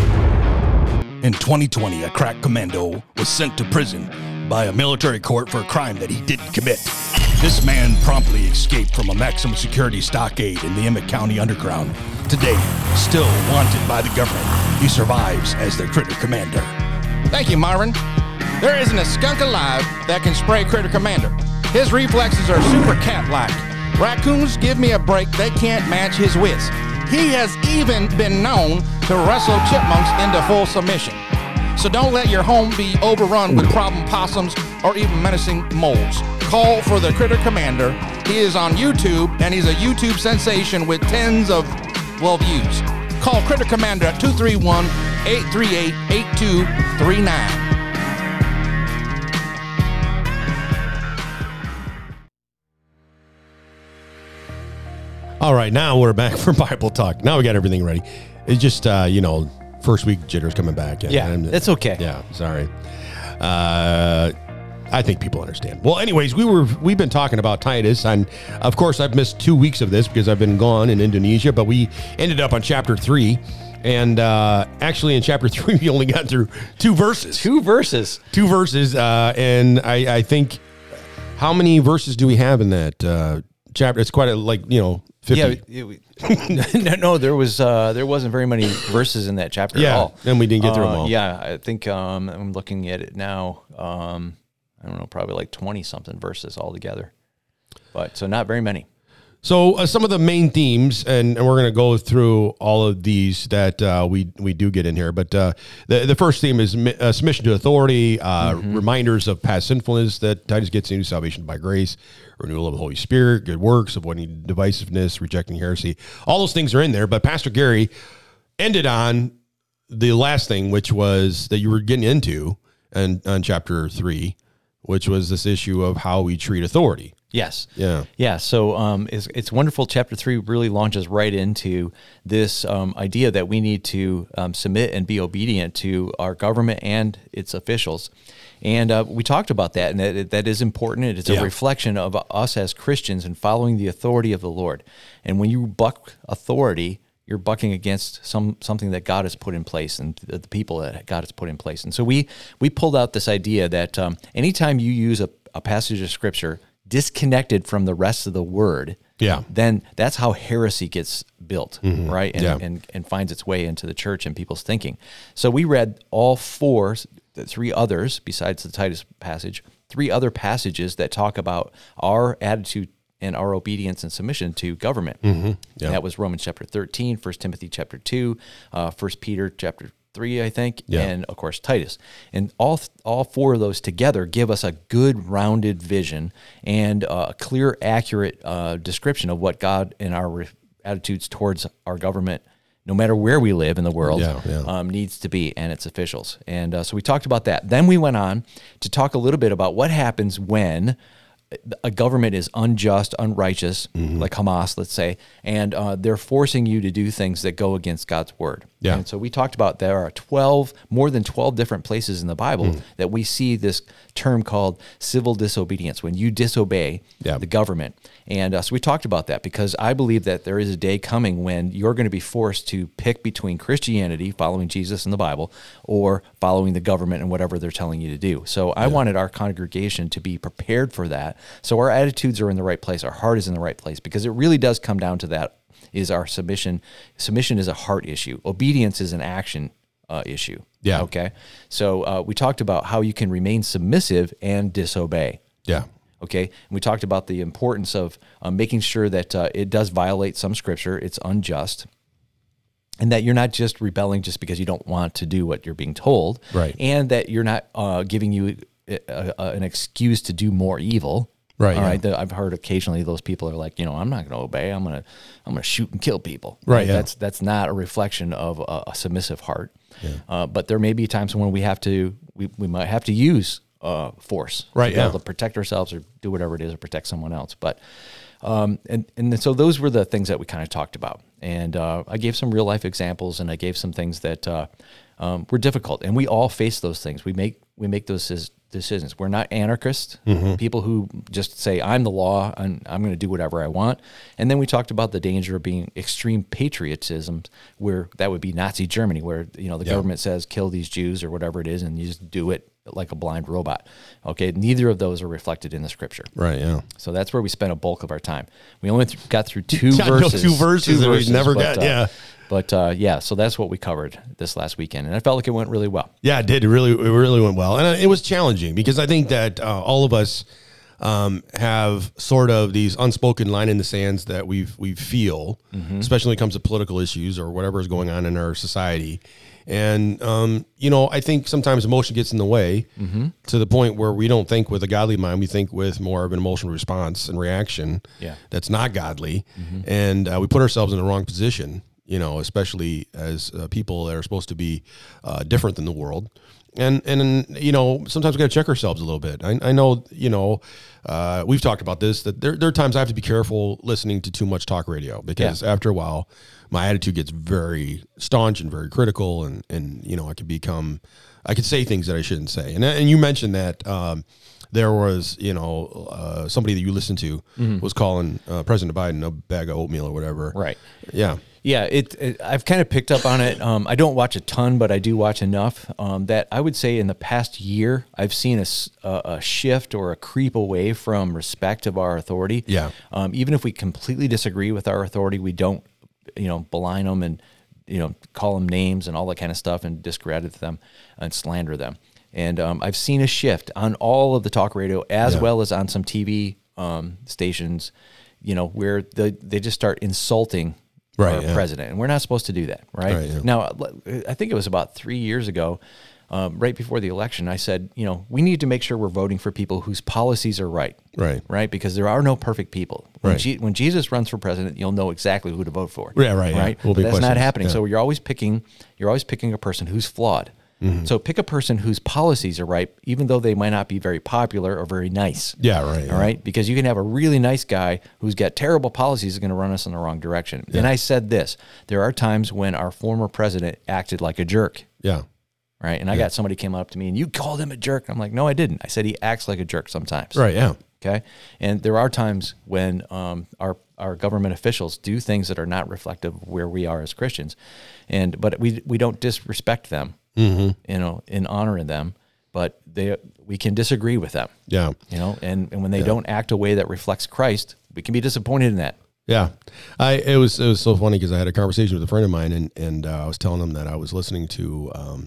In 2020, a crack commando was sent to prison by a military court for a crime that he didn't commit. This man promptly escaped from a maximum security stockade in the Emmett County Underground. Today, still wanted by the government, he survives as their critter commander. Thank you, Myron. There isn't a skunk alive that can spray Critter Commander. His reflexes are super cat-like. Raccoons give me a break, they can't match his wits. He has even been known to wrestle chipmunks into full submission. So don't let your home be overrun with problem possums or even menacing moles. Call for the Critter Commander. He is on YouTube, and he's a YouTube sensation with tens of, views. Call Critter Commander at 231-838-8239. All right, now we're back for Bible Talk. Now we got everything ready. It's just, first week jitters coming back. It's okay. Yeah, sorry. I think people understand. Well, anyways, we've been talking about Titus, and of course I've missed 2 weeks of this because I've been gone in Indonesia, but we ended up on chapter 3. And actually in chapter 3, we only got through 2 verses. 2 verses. 2 verses. And I think, how many verses do we have in that chapter. It's quite a 50. Yeah, no, there wasn't very many verses in that chapter at all. And we didn't get through them all. Yeah, I think I'm looking at it now. I don't know, probably like 20 something verses altogether. But so not very many. So some of the main themes, and we're going to go through all of these that we do get in here. But the first theme is submission to authority, reminders of past sinfulness that Titus gets into, salvation by grace, renewal of the Holy Spirit, good works, avoiding divisiveness, rejecting heresy. All those things are in there. But Pastor Gary ended on the last thing, which was that you were getting into on chapter 3, which was this issue of how we treat authority. Yes. Yeah. Yeah. So it's wonderful. Chapter 3 really launches right into this idea that we need to submit and be obedient to our government and its officials. And we talked about that, and that is important. It's a reflection of us as Christians and following the authority of the Lord. And when you buck authority, you're bucking against something that God has put in place and the people that God has put in place. And so we pulled out this idea that anytime you use a passage of Scripture disconnected from the rest of the Word, then that's how heresy gets built, right? And finds its way into the church and people's thinking. So we read all three others, besides the Titus passage, 3 other passages that talk about our attitude and our obedience and submission to government. That was Romans chapter 13, 1 Timothy chapter 2, 1 Peter chapter 3, I think, and of course Titus. And all 4 of those together give us a good rounded vision and a clear, accurate description of what God and our attitudes towards our government, no matter where we live in the world, needs to be, and its officials. And so we talked about that. Then we went on to talk a little bit about what happens when a government is unjust, unrighteous, like Hamas, let's say, and they're forcing you to do things that go against God's word. Yeah. And so we talked about there are more than 12 different places in the Bible that we see this term called civil disobedience, when you disobey the government. And so we talked about that because I believe that there is a day coming when you're going to be forced to pick between Christianity, following Jesus and the Bible, or following the government and whatever they're telling you to do. So I wanted our congregation to be prepared for that. So our attitudes are in the right place. Our heart is in the right place, because it really does come down to that. Is our submission. Submission is a heart issue. Obedience is an action issue. Yeah. Okay. So we talked about how you can remain submissive and disobey. Yeah. Okay. And we talked about the importance of making sure that it does violate some scripture. It's unjust. And that you're not just rebelling just because you don't want to do what you're being told. Right. And that you're not giving you an excuse to do more evil. Right. All right. I've heard occasionally those people are like, I'm not going to obey. I'm going to shoot and kill people. Right. That's not a reflection of a submissive heart. Yeah. But there may be times when we might have to use force. Right. To be able to protect ourselves or do whatever it is or protect someone else. But and so those were the things that we kind of talked about. And I gave some real life examples, and I gave some things that were difficult. And we all face those things. We make those decisions. We're not anarchists, people who just say, I'm the law, and I'm going to do whatever I want. And then we talked about the danger of being extreme patriotism, where that would be Nazi Germany, where the government says, kill these Jews or whatever it is, and you just do it like a blind robot. Okay, neither of those are reflected in the scripture. Right, yeah. So that's where we spent a bulk of our time. We only got through two verses. Two verses that we never got, But so that's what we covered this last weekend, and I felt like it went really well. Yeah, it did. It really went well, and it was challenging because I think that all of us have sort of these unspoken line in the sands that we feel, especially when it comes to political issues or whatever is going on in our society. And I think sometimes emotion gets in the way to the point where we don't think with a godly mind. We think with more of an emotional response and reaction that's not godly, and we put ourselves in the wrong position. Especially as people that are supposed to be different than the world. And sometimes we got to check ourselves a little bit. I know, we've talked about this, that there are times I have to be careful listening to too much talk radio, because after a while, my attitude gets very staunch and very critical. And I could say things that I shouldn't say. And you mentioned that there was, somebody that you listened to was calling President Biden a bag of oatmeal or whatever. Right. Yeah. Yeah, I've kind of picked up on it. I don't watch a ton, but I do watch enough that I would say in the past year, I've seen a shift or a creep away from respect of our authority. Yeah. Even if we completely disagree with our authority, we don't, beline them and, call them names and all that kind of stuff and discredit them and slander them. And I've seen a shift on all of the talk radio as well as on some TV stations, where they just start insulting our president, and we're not supposed to do that, right? Now, I think it was about 3 years ago, right before the election, I said, we need to make sure we're voting for people whose policies are right, because there are no perfect people. When Jesus runs for president, you'll know exactly who to vote for. Right. But that's not happening. So you're always picking a person who's flawed. Mm-hmm. So pick a person whose policies are right, even though they might not be very popular or very nice. Yeah, right. All right? Because you can have a really nice guy who's got terrible policies is going to run us in the wrong direction. Yeah. And I said this, there are times when our former president acted like a jerk. Yeah. Right? And I got somebody came up to me and you called him a jerk. I'm like, no, I didn't. I said he acts like a jerk sometimes. Right, yeah. Okay? And there are times when our government officials do things that are not reflective of where we are as Christians. But we don't disrespect them. Mm-hmm. In honoring them, but we can disagree with them. Yeah. And when they don't act a way that reflects Christ, we can be disappointed in that. Yeah. It was so funny because I had a conversation with a friend of mine and I was telling him that I was listening to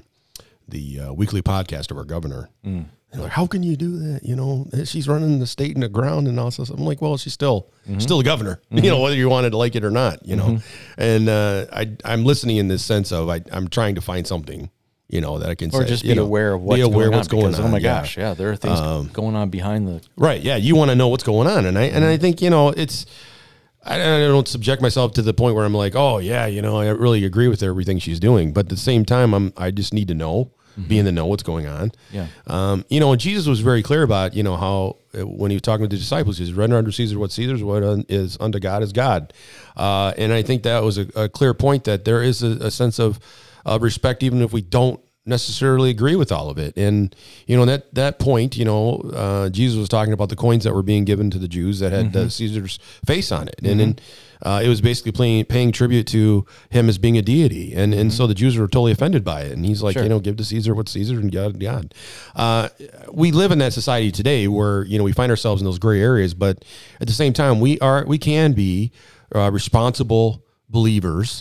the weekly podcast of our governor. Mm. And like, how can you do that? She's running the state in the ground and all this. I'm like, well, she's still a governor, whether you wanted to like it or not, And I'm listening in this sense of I'm trying to find something that I can say. Or just be aware of what's going on. Oh my gosh, there are things going on behind the... Right, yeah, you want to know what's going on. And I think, it's... I don't subject myself to the point where I'm like, oh, yeah, I really agree with everything she's doing. But at the same time, I just need to know, be in the know what's going on. Yeah. And Jesus was very clear about, how when he was talking to the disciples, he says, render unto Caesar what Caesar's, what is unto God is God. And I think that was a clear point that there is a sense of respect, even if we don't necessarily agree with all of it. And, that point, Jesus was talking about the coins that were being given to the Jews that had Caesar's face on it. And then it was basically paying tribute to him as being a deity. And so the Jews were totally offended by it. And he's like, give to Caesar what's Caesar and God. We live in that society today where, we find ourselves in those gray areas, but at the same time, we can be responsible believers,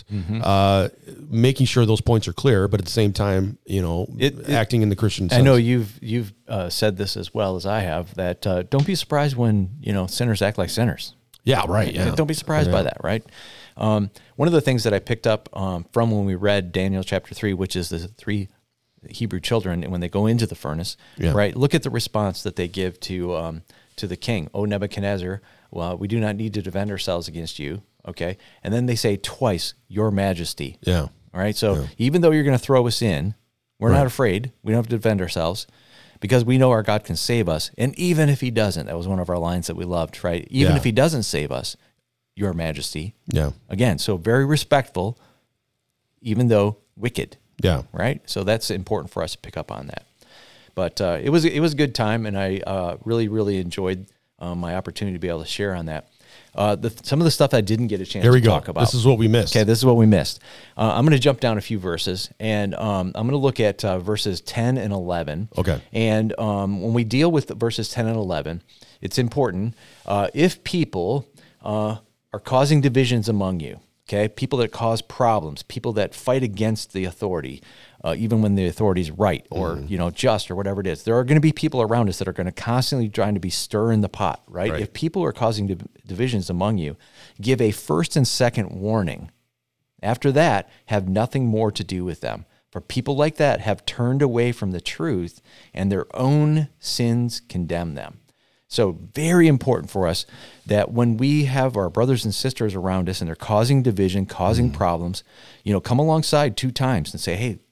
making sure those points are clear, but at the same time, acting in the Christian sense. I know you've said this as well as I have, that don't be surprised when, sinners act like sinners. Yeah, right. Yeah. Don't be surprised by that, right? One of the things that I picked up from when we read Daniel chapter 3, which is the 3 Hebrew children, and when they go into the furnace, right? Look at the response that they give to the king. O Nebuchadnezzar, well, we do not need to defend ourselves against you. Okay. And then they say twice, Your Majesty. Yeah. All right. So even though you're going to throw us in, we're not afraid. We don't have to defend ourselves because we know our God can save us. And even if he doesn't, that was one of our lines that we loved, right? Even if he doesn't save us, Your Majesty. Yeah. Again, so very respectful, even though wicked. Yeah. Right. So that's important for us to pick up on that. But it was a good time, and I really, really enjoyed my opportunity to be able to share on that. Some of the stuff I didn't get a chance to talk about. This is what we missed. Okay, this is what we missed. I'm going to jump down a few verses, and I'm going to look at verses 10 and 11. Okay. And when we deal with verses 10 and 11, it's important. If people are causing divisions among you, okay, people that cause problems, people that fight against the authority, even when the authority is right or just or whatever it is, there are going to be people around us that are going to constantly trying to be stirring the pot, right? If people are causing divisions among you, give a first and second warning. After that, have nothing more to do with them. For people like that have turned away from the truth, and their own sins condemn them. So very important for us that when we have our brothers and sisters around us and they're causing division, causing problems, come alongside 2 times and say, hey,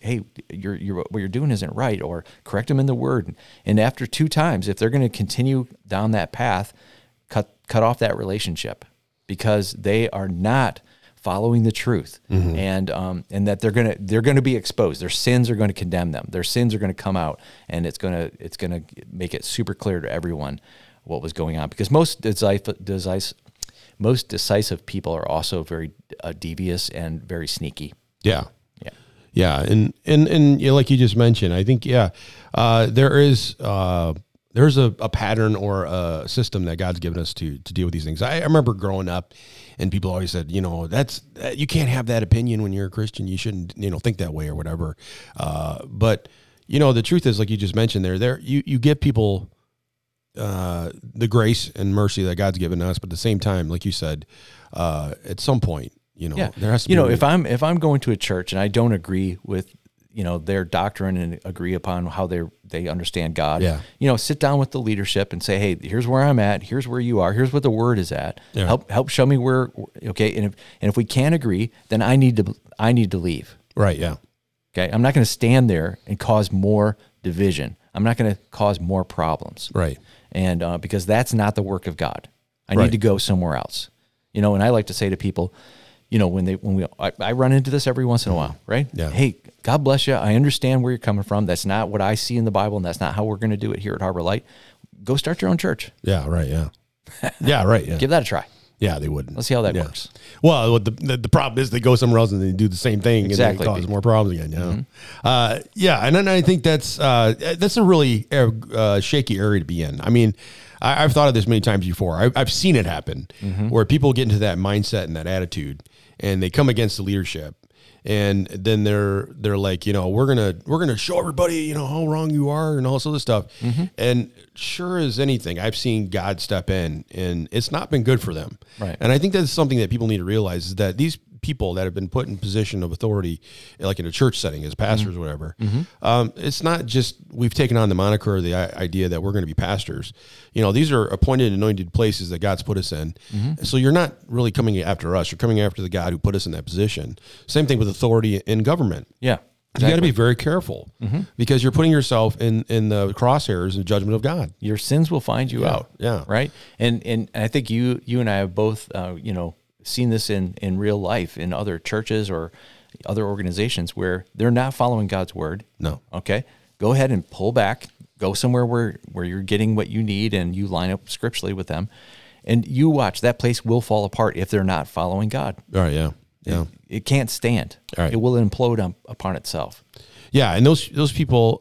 what you're doing isn't right, or correct them in the word. And after 2 times, if they're going to continue down that path, cut off that relationship, because they are not following the truth, and that they're going to be exposed. Their sins are going to condemn them. Their sins are going to come out, and it's going to make it super clear to everyone what was going on. Because most most decisive people are also very devious and very sneaky. Yeah. Yeah. Yeah. And you know, like you just mentioned, I think, there's a pattern or a system that God's given us to deal with these things. I remember growing up and people always said, you know, you can't have that opinion when you're a Christian. You shouldn't, you know, think that way or whatever. But you know, the truth is, like you just mentioned you give people, the grace and mercy that God's given us, but at the same time, like you said, at some point, you know, there has to be, if I'm going to a church and I don't agree with, you know, their doctrine and agree upon how they understand God, you know, sit down with the leadership and say, hey, here's where I'm at. Here's where you are. Here's what the word is at. Yeah. Help show me where. Okay. And if we can't agree, then I need to leave. Right. Yeah. Okay. I'm not going to stand there and cause more division. I'm not going to cause more problems. Right. And because that's not the work of God. I need to go somewhere else. You know, and I like to say to people, you know, I run into this every once in a while, right? Yeah. Hey, God bless you. I understand where you're coming from. That's not what I see in the Bible, and that's not how we're going to do it here at Harbor Light. Go start your own church. Yeah, right, yeah. Yeah, right, yeah. Give that a try. Yeah, they wouldn't. Let's see how that works. Well, the problem is they go somewhere else and they do the same thing and they cause more problems again. You know? And then I think that's a really shaky area to be in. I mean, I've thought of this many times before. I've seen it happen where people get into that mindset and that attitude, and they come against the leadership, and then they're like, you know, we're gonna show everybody, you know, how wrong you are and all this other stuff. And sure as anything, I've seen God step in, and it's not been good for them. Right. And I think that's something that people need to realize, is that these people that have been put in position of authority, like in a church setting as pastors or whatever, it's not just we've taken on the moniker or the idea that we're going to be pastors. You know, these are appointed, anointed places that God's put us in. So you're not really coming after us. You're coming after the God who put us in that position. Same thing with authority in government. Yeah. You got to be very careful because you're putting yourself in the crosshairs and judgment of God. Your sins will find you out. Yeah. Right. And I think you and I have both, you know, seen this in real life in other churches or other organizations where they're not following God's word. No. Okay. Go ahead and pull back, go somewhere where you're getting what you need and you line up scripturally with them, and you watch, that place will fall apart if they're not following God. All right. Yeah. Yeah. It can't stand. All right. It will implode upon itself. Yeah, and those people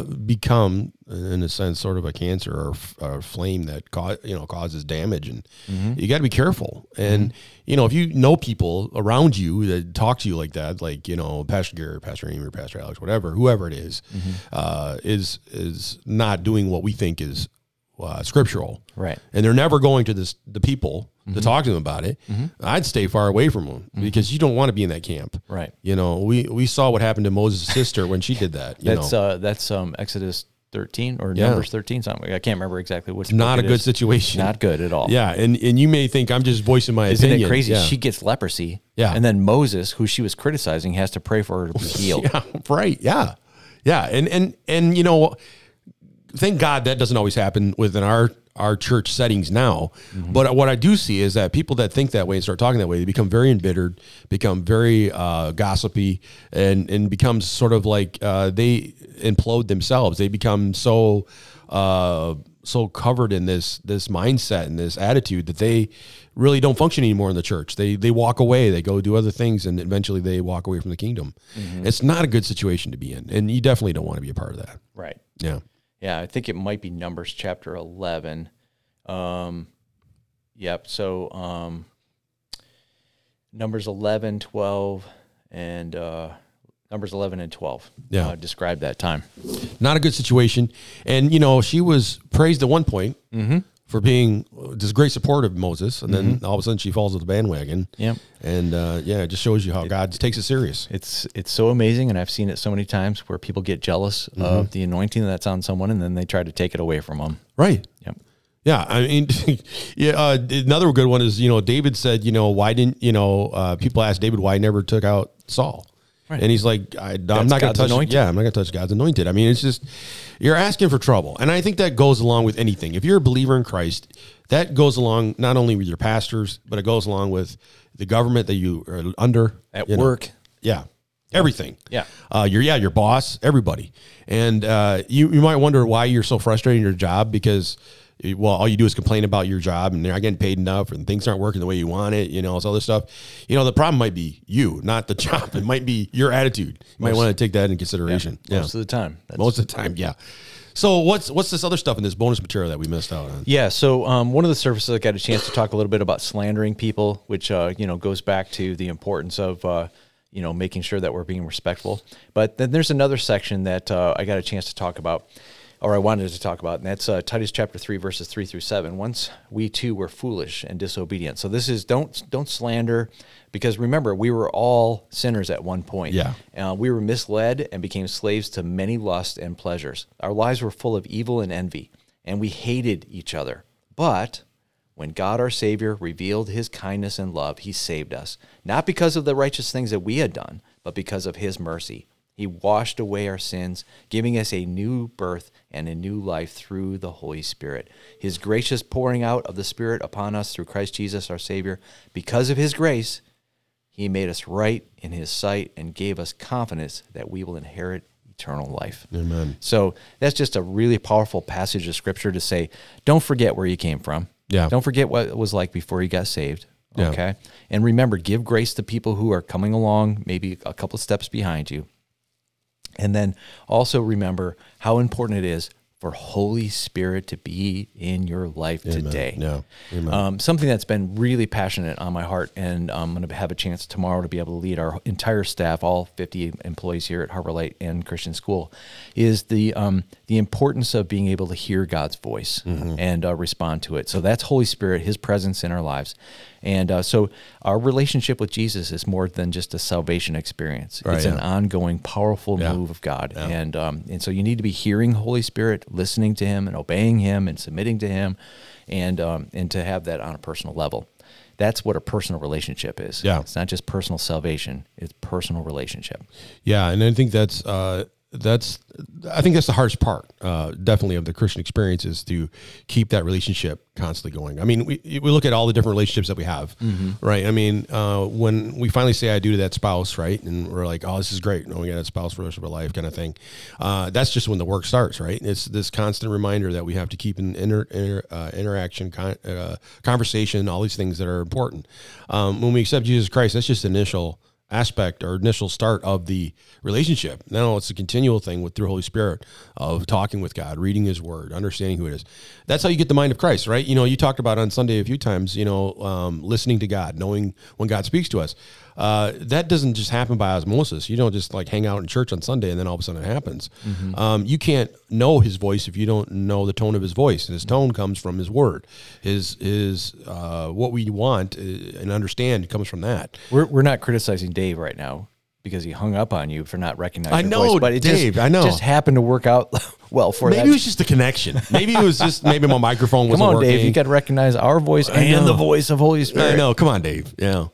become, in a sense, sort of a cancer or a flame that causes damage, and you got to be careful. And you know, if you know people around you that talk to you like that, like, you know, Pastor Garrett, Pastor Amy, or Pastor Alex, whoever it is not doing what we think is scriptural, right? And they're never going to the people to talk to them about it. I'd stay far away from them because you don't want to be in that camp, right? You know, we saw what happened to Moses' sister when she did that. That's Exodus 13 or Numbers 13, something. I can't remember exactly which. Not a good situation. Not good at all. Yeah, and you may think I'm just voicing my opinion. Isn't it crazy? Yeah. She gets leprosy. Yeah, and then Moses, who she was criticizing, has to pray for her to be healed. Yeah, right. Yeah, yeah, and you know, thank God that doesn't always happen within our church settings now. But what I do see is that people that think that way and start talking that way, they become very embittered, become very gossipy, and becomes sort of like they implode themselves. They become so covered in this mindset and this attitude that they really don't function anymore in the church. They walk away, they go do other things, and eventually they walk away from the kingdom. It's not a good situation to be in, and you definitely don't want to be a part of that. Right. Yeah. Yeah, I think it might be Numbers chapter 11. Yep. So Numbers 11, 12, and Numbers 11 and 12 describe that time. Not a good situation. And, you know, she was praised at one point for being this great support of Moses, and then all of a sudden she falls off the bandwagon. Yep. And it just shows you how God takes it serious. It's so amazing, and I've seen it so many times where people get jealous of the anointing that's on someone, and then they try to take it away from them. Right. Yep. Yeah, I mean, another good one is, you know, David said, you know, why didn't, you know, people asked David why he never took out Saul. Right. And he's like, I'm not going to touch. Anointed. Yeah, I'm not going to touch God's anointed. I mean, it's just, you're asking for trouble. And I think that goes along with anything. If you're a believer in Christ, that goes along not only with your pastors, but it goes along with the government that you are under. At work. Yeah. Everything. Yeah. Your boss, everybody. And you might wonder why you're so frustrated in your job, because well, all you do is complain about your job and they're not getting paid enough and things aren't working the way you want it, all this other stuff. The problem might be you, not the job. It might be your attitude. You might want to take that into consideration. Most of the time. Most of the time, yeah. So what's this other stuff in this bonus material that we missed out on? Yeah, so one of the services I got a chance to talk a little bit about slandering people, which goes back to the importance of making sure that we're being respectful. But then there's another section that I got a chance to talk about, or I wanted to talk about, and that's Titus chapter 3, verses 3 through 7. Once we too were foolish and disobedient. So this is don't slander, because remember, we were all sinners at one point. Yeah. We were misled and became slaves to many lusts and pleasures. Our lives were full of evil and envy, and we hated each other. But when God our Savior revealed his kindness and love, he saved us, not because of the righteous things that we had done, but because of his mercy. He washed away our sins, giving us a new birth and a new life through the Holy Spirit. His gracious pouring out of the Spirit upon us through Christ Jesus our Savior. Because of his grace, he made us right in his sight and gave us confidence that we will inherit eternal life. Amen. So that's just a really powerful passage of Scripture to say, don't forget where you came from. Yeah. Don't forget what it was like before you got saved. Yeah. Okay. And remember, give grace to people who are coming along, maybe a couple of steps behind you. And then also remember how important it is for Holy Spirit to be in your life today. Yeah. Amen. Something that's been really passionate on my heart, and I'm going to have a chance tomorrow to be able to lead our entire staff, all 50 employees here at Harbor Light and Christian School, is the importance of being able to hear God's voice and respond to it. So that's Holy Spirit, his presence in our lives. And so our relationship with Jesus is more than just a salvation experience. Right, it's an ongoing, powerful move of God. Yeah. And so you need to be hearing Holy Spirit, listening to him and obeying him and submitting to him, and to have that on a personal level. That's what a personal relationship is. Yeah. It's not just personal salvation, it's personal relationship. Yeah, and I think that's the hardest part, definitely, of the Christian experience, is to keep that relationship constantly going. I mean, we look at all the different relationships that we have, right? I mean, when we finally say I do to that spouse, right, and we're like, oh, this is great, we got a spouse for the rest of our life kind of thing. That's just when the work starts, right? It's this constant reminder that we have to keep an interaction, conversation, all these things that are important. When we accept Jesus Christ, that's just the initial aspect or initial start of the relationship. Now it's a continual thing through Holy Spirit of talking with God, reading his word, understanding who it is. That's how you get the mind of Christ, right? You talked about on Sunday a few times, listening to God, knowing when God speaks to us. That doesn't just happen by osmosis. You don't just like hang out in church on Sunday and then all of a sudden it happens. You can't know his voice if you don't know the tone of his voice. And his tone comes from his word. His what we want and understand comes from that. We're not criticizing Dave right now because he hung up on you for not recognizing your voice, but it Dave, I know. just happened to work out well for that. Maybe it was just a connection. Maybe it was just my microphone wasn't working. Come on, Dave, you got to recognize our voice and the voice of Holy Spirit. I know. Come on, Dave. Yeah.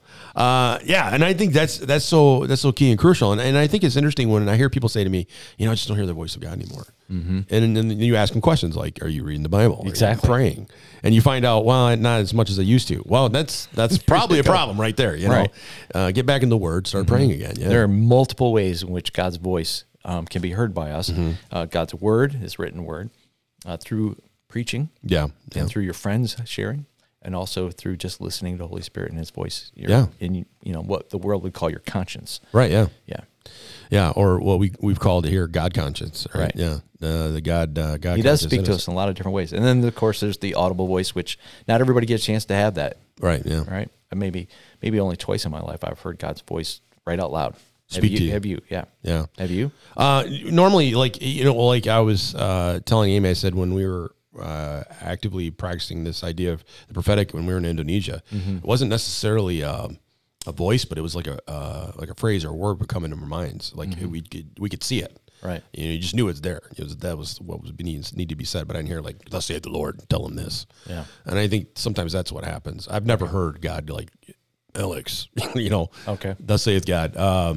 And I think that's so key and crucial. And I think it's interesting when I hear people say to me, I just don't hear the voice of God anymore. And then you ask them questions like, are you reading the Bible? Exactly. Are you praying? And you find out, well, not as much as I used to. Well, that's probably a problem right there. Right. Get back in the word, start praying again. Yeah. There are multiple ways in which God's voice can be heard by us. God's word, his written word, through preaching. Yeah. And through your friends sharing. And also through just listening to the Holy Spirit and his voice. In what the world would call your conscience. Right. Yeah. Yeah. Yeah. Or what we've called here God conscience. Right. Right. Yeah. The God. He does speak to us in a lot of different ways. And then of course there's the audible voice, which not everybody gets a chance to have that. Right. Yeah. Right. Maybe only twice in my life I've heard God's voice right out loud. Speak to you. Have you? Yeah. Yeah. Have you? Normally, like I was telling Amy, I said when we were actively practicing this idea of the prophetic when we were in Indonesia, it wasn't necessarily a voice, but it was like a phrase or a word would come into our minds. Like we could see it. Right. You just knew it's there. That was what was need to be said. But I didn't hear like, thus saith the Lord, tell him this. Yeah. And I think sometimes that's what happens. I've never heard God like, Alex, Okay. Thus saith God.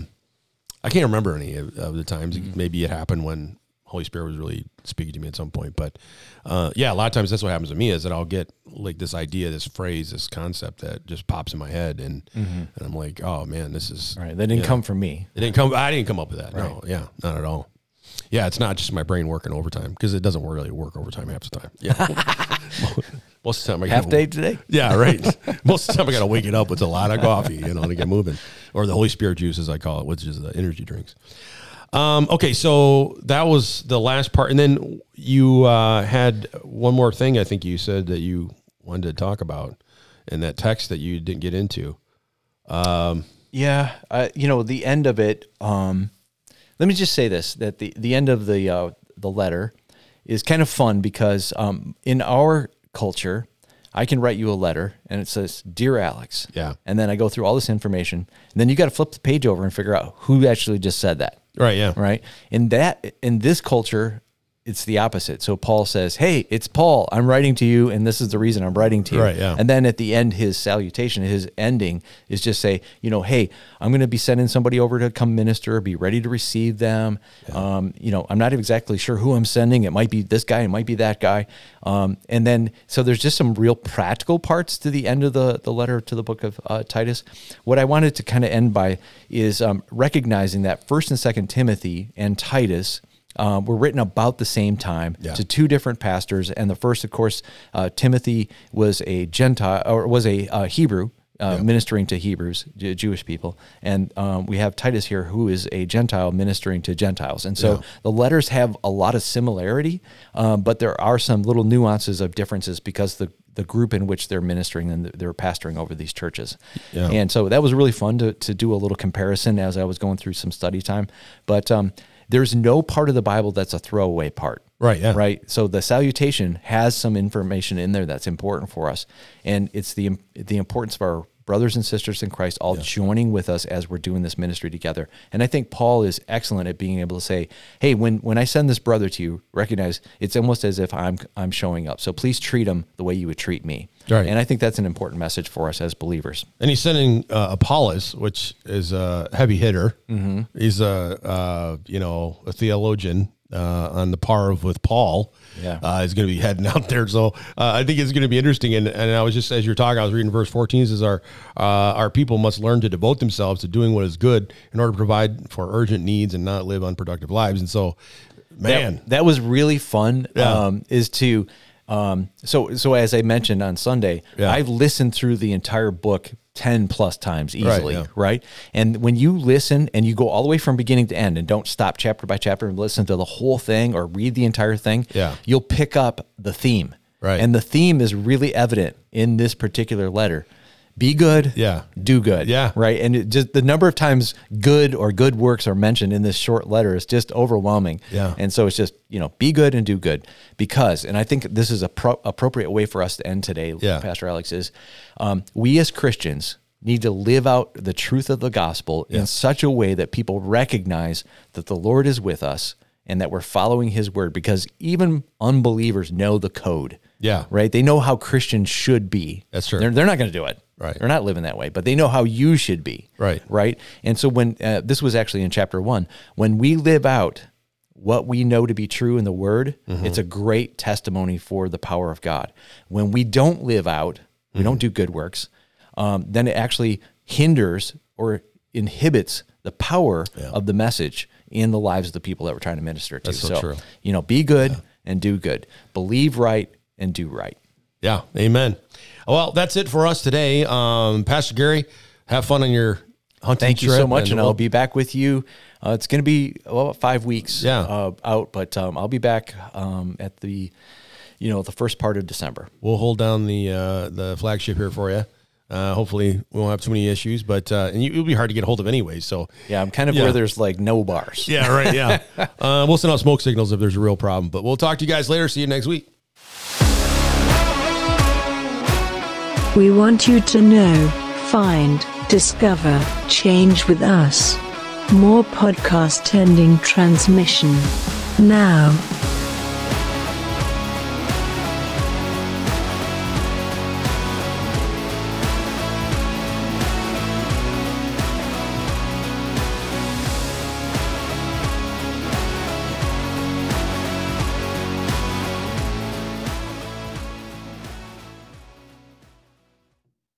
I can't remember any of the times. Maybe it happened when Holy Spirit was really speaking to me at some point. But a lot of times that's what happens to me is that I'll get like this idea, this phrase, this concept that just pops in my head. And I'm like, oh man, this is right. That didn't come from me. I didn't come up with that. Right. No. Yeah. Not at all. Yeah, it's not just my brain working overtime because it doesn't really work overtime half the time. Yeah. Most of the time I half day today. Yeah, right. Most of the time I got to wake it up with a lot of coffee, to get moving, or the Holy Spirit juice, as I call it, which is the energy drinks. Okay, so that was the last part, and then you had one more thing. I think you said that you wanted to talk about in that text that you didn't get into. The end of it. Let me just say this: that the end of the letter is kind of fun because in our culture, I can write you a letter and it says, "Dear Alex," and then I go through all this information, and then you got to flip the page over and figure out who actually just said that. Right. Yeah. Right. In this culture, it's the opposite. So Paul says, "Hey, it's Paul. I'm writing to you, and this is the reason I'm writing to you." Right, yeah. And then at the end, his salutation, his ending is just say, "Hey, I'm going to be sending somebody over to come minister. Be ready to receive them." Yeah. I'm not exactly sure who I'm sending. It might be this guy. It might be that guy. And then, so there's just some real practical parts to the end of the letter to the book of Titus. What I wanted to kind of end by is recognizing that 1st and 2nd Timothy and Titus were written about the same time to two different pastors. And the first, of course, Timothy was a Gentile, or was a Hebrew, ministering to Hebrews, Jewish people. And we have Titus here, who is a Gentile ministering to Gentiles. And so the letters have a lot of similarity, but there are some little nuances of differences because the group in which they're ministering and they're pastoring over these churches. Yeah. And so that was really fun to do a little comparison as I was going through some study time. But there's no part of the Bible that's a throwaway part. Right, yeah. Right? So the salutation has some information in there that's important for us. And it's the importance of our brothers and sisters in Christ all joining with us as we're doing this ministry together. And I think Paul is excellent at being able to say, "Hey, when I send this brother to you, recognize it's almost as if I'm showing up. So please treat him the way you would treat me." Right. And I think that's an important message for us as believers. And he's sending Apollos, which is a heavy hitter. Mm-hmm. He's a theologian on the par with Paul. Yeah, is going to be heading out there. So I think it's going to be interesting. And I was just, as you're talking, I was reading verse 14. It says our people must learn to devote themselves to doing what is good in order to provide for urgent needs and not live unproductive lives. And so, man, that was really fun. Yeah. So as I mentioned on Sunday, I've listened through the entire book 10 plus times easily, right? And when you listen and you go all the way from beginning to end and don't stop chapter by chapter and listen to the whole thing or read the entire thing, you'll pick up the theme. Right. And the theme is really evident in this particular letter. Be good, do good. Yeah. Right. And just the number of times good or good works are mentioned in this short letter is just overwhelming. Yeah. And so it's just, be good and do good because, and I think this is a appropriate way for us to end today, Pastor Alex, is we as Christians need to live out the truth of the gospel in such a way that people recognize that the Lord is with us and that we're following his word, because even unbelievers know the code. Yeah. Right. They know how Christians should be. That's true. They're not going to do it. Right. They're not living that way, but they know how you should be. Right. Right. And so when this was actually in chapter 1, when we live out what we know to be true in the word, it's a great testimony for the power of God. When we don't live out, we don't do good works, then it actually hinders or inhibits the power of the message in the lives of the people that we're trying to minister to. That's so true. Be good and do good. Believe right and do right. Yeah. Amen. Well, that's it for us today. Pastor Gary, have fun on your hunting Thank trip. You so much, and I'll be back with you. It's going to be about 5 weeks out, but I'll be back at the first part of December. We'll hold down the flagship here for you. Hopefully we won't have too many issues, but it'll be hard to get a hold of anyway. So I'm kind of where there's like no bars. Yeah, right. Yeah. We'll send out smoke signals if there's a real problem, but we'll talk to you guys later. See you next week. We want you to know, find, discover, change with us. More podcast ending transmission now.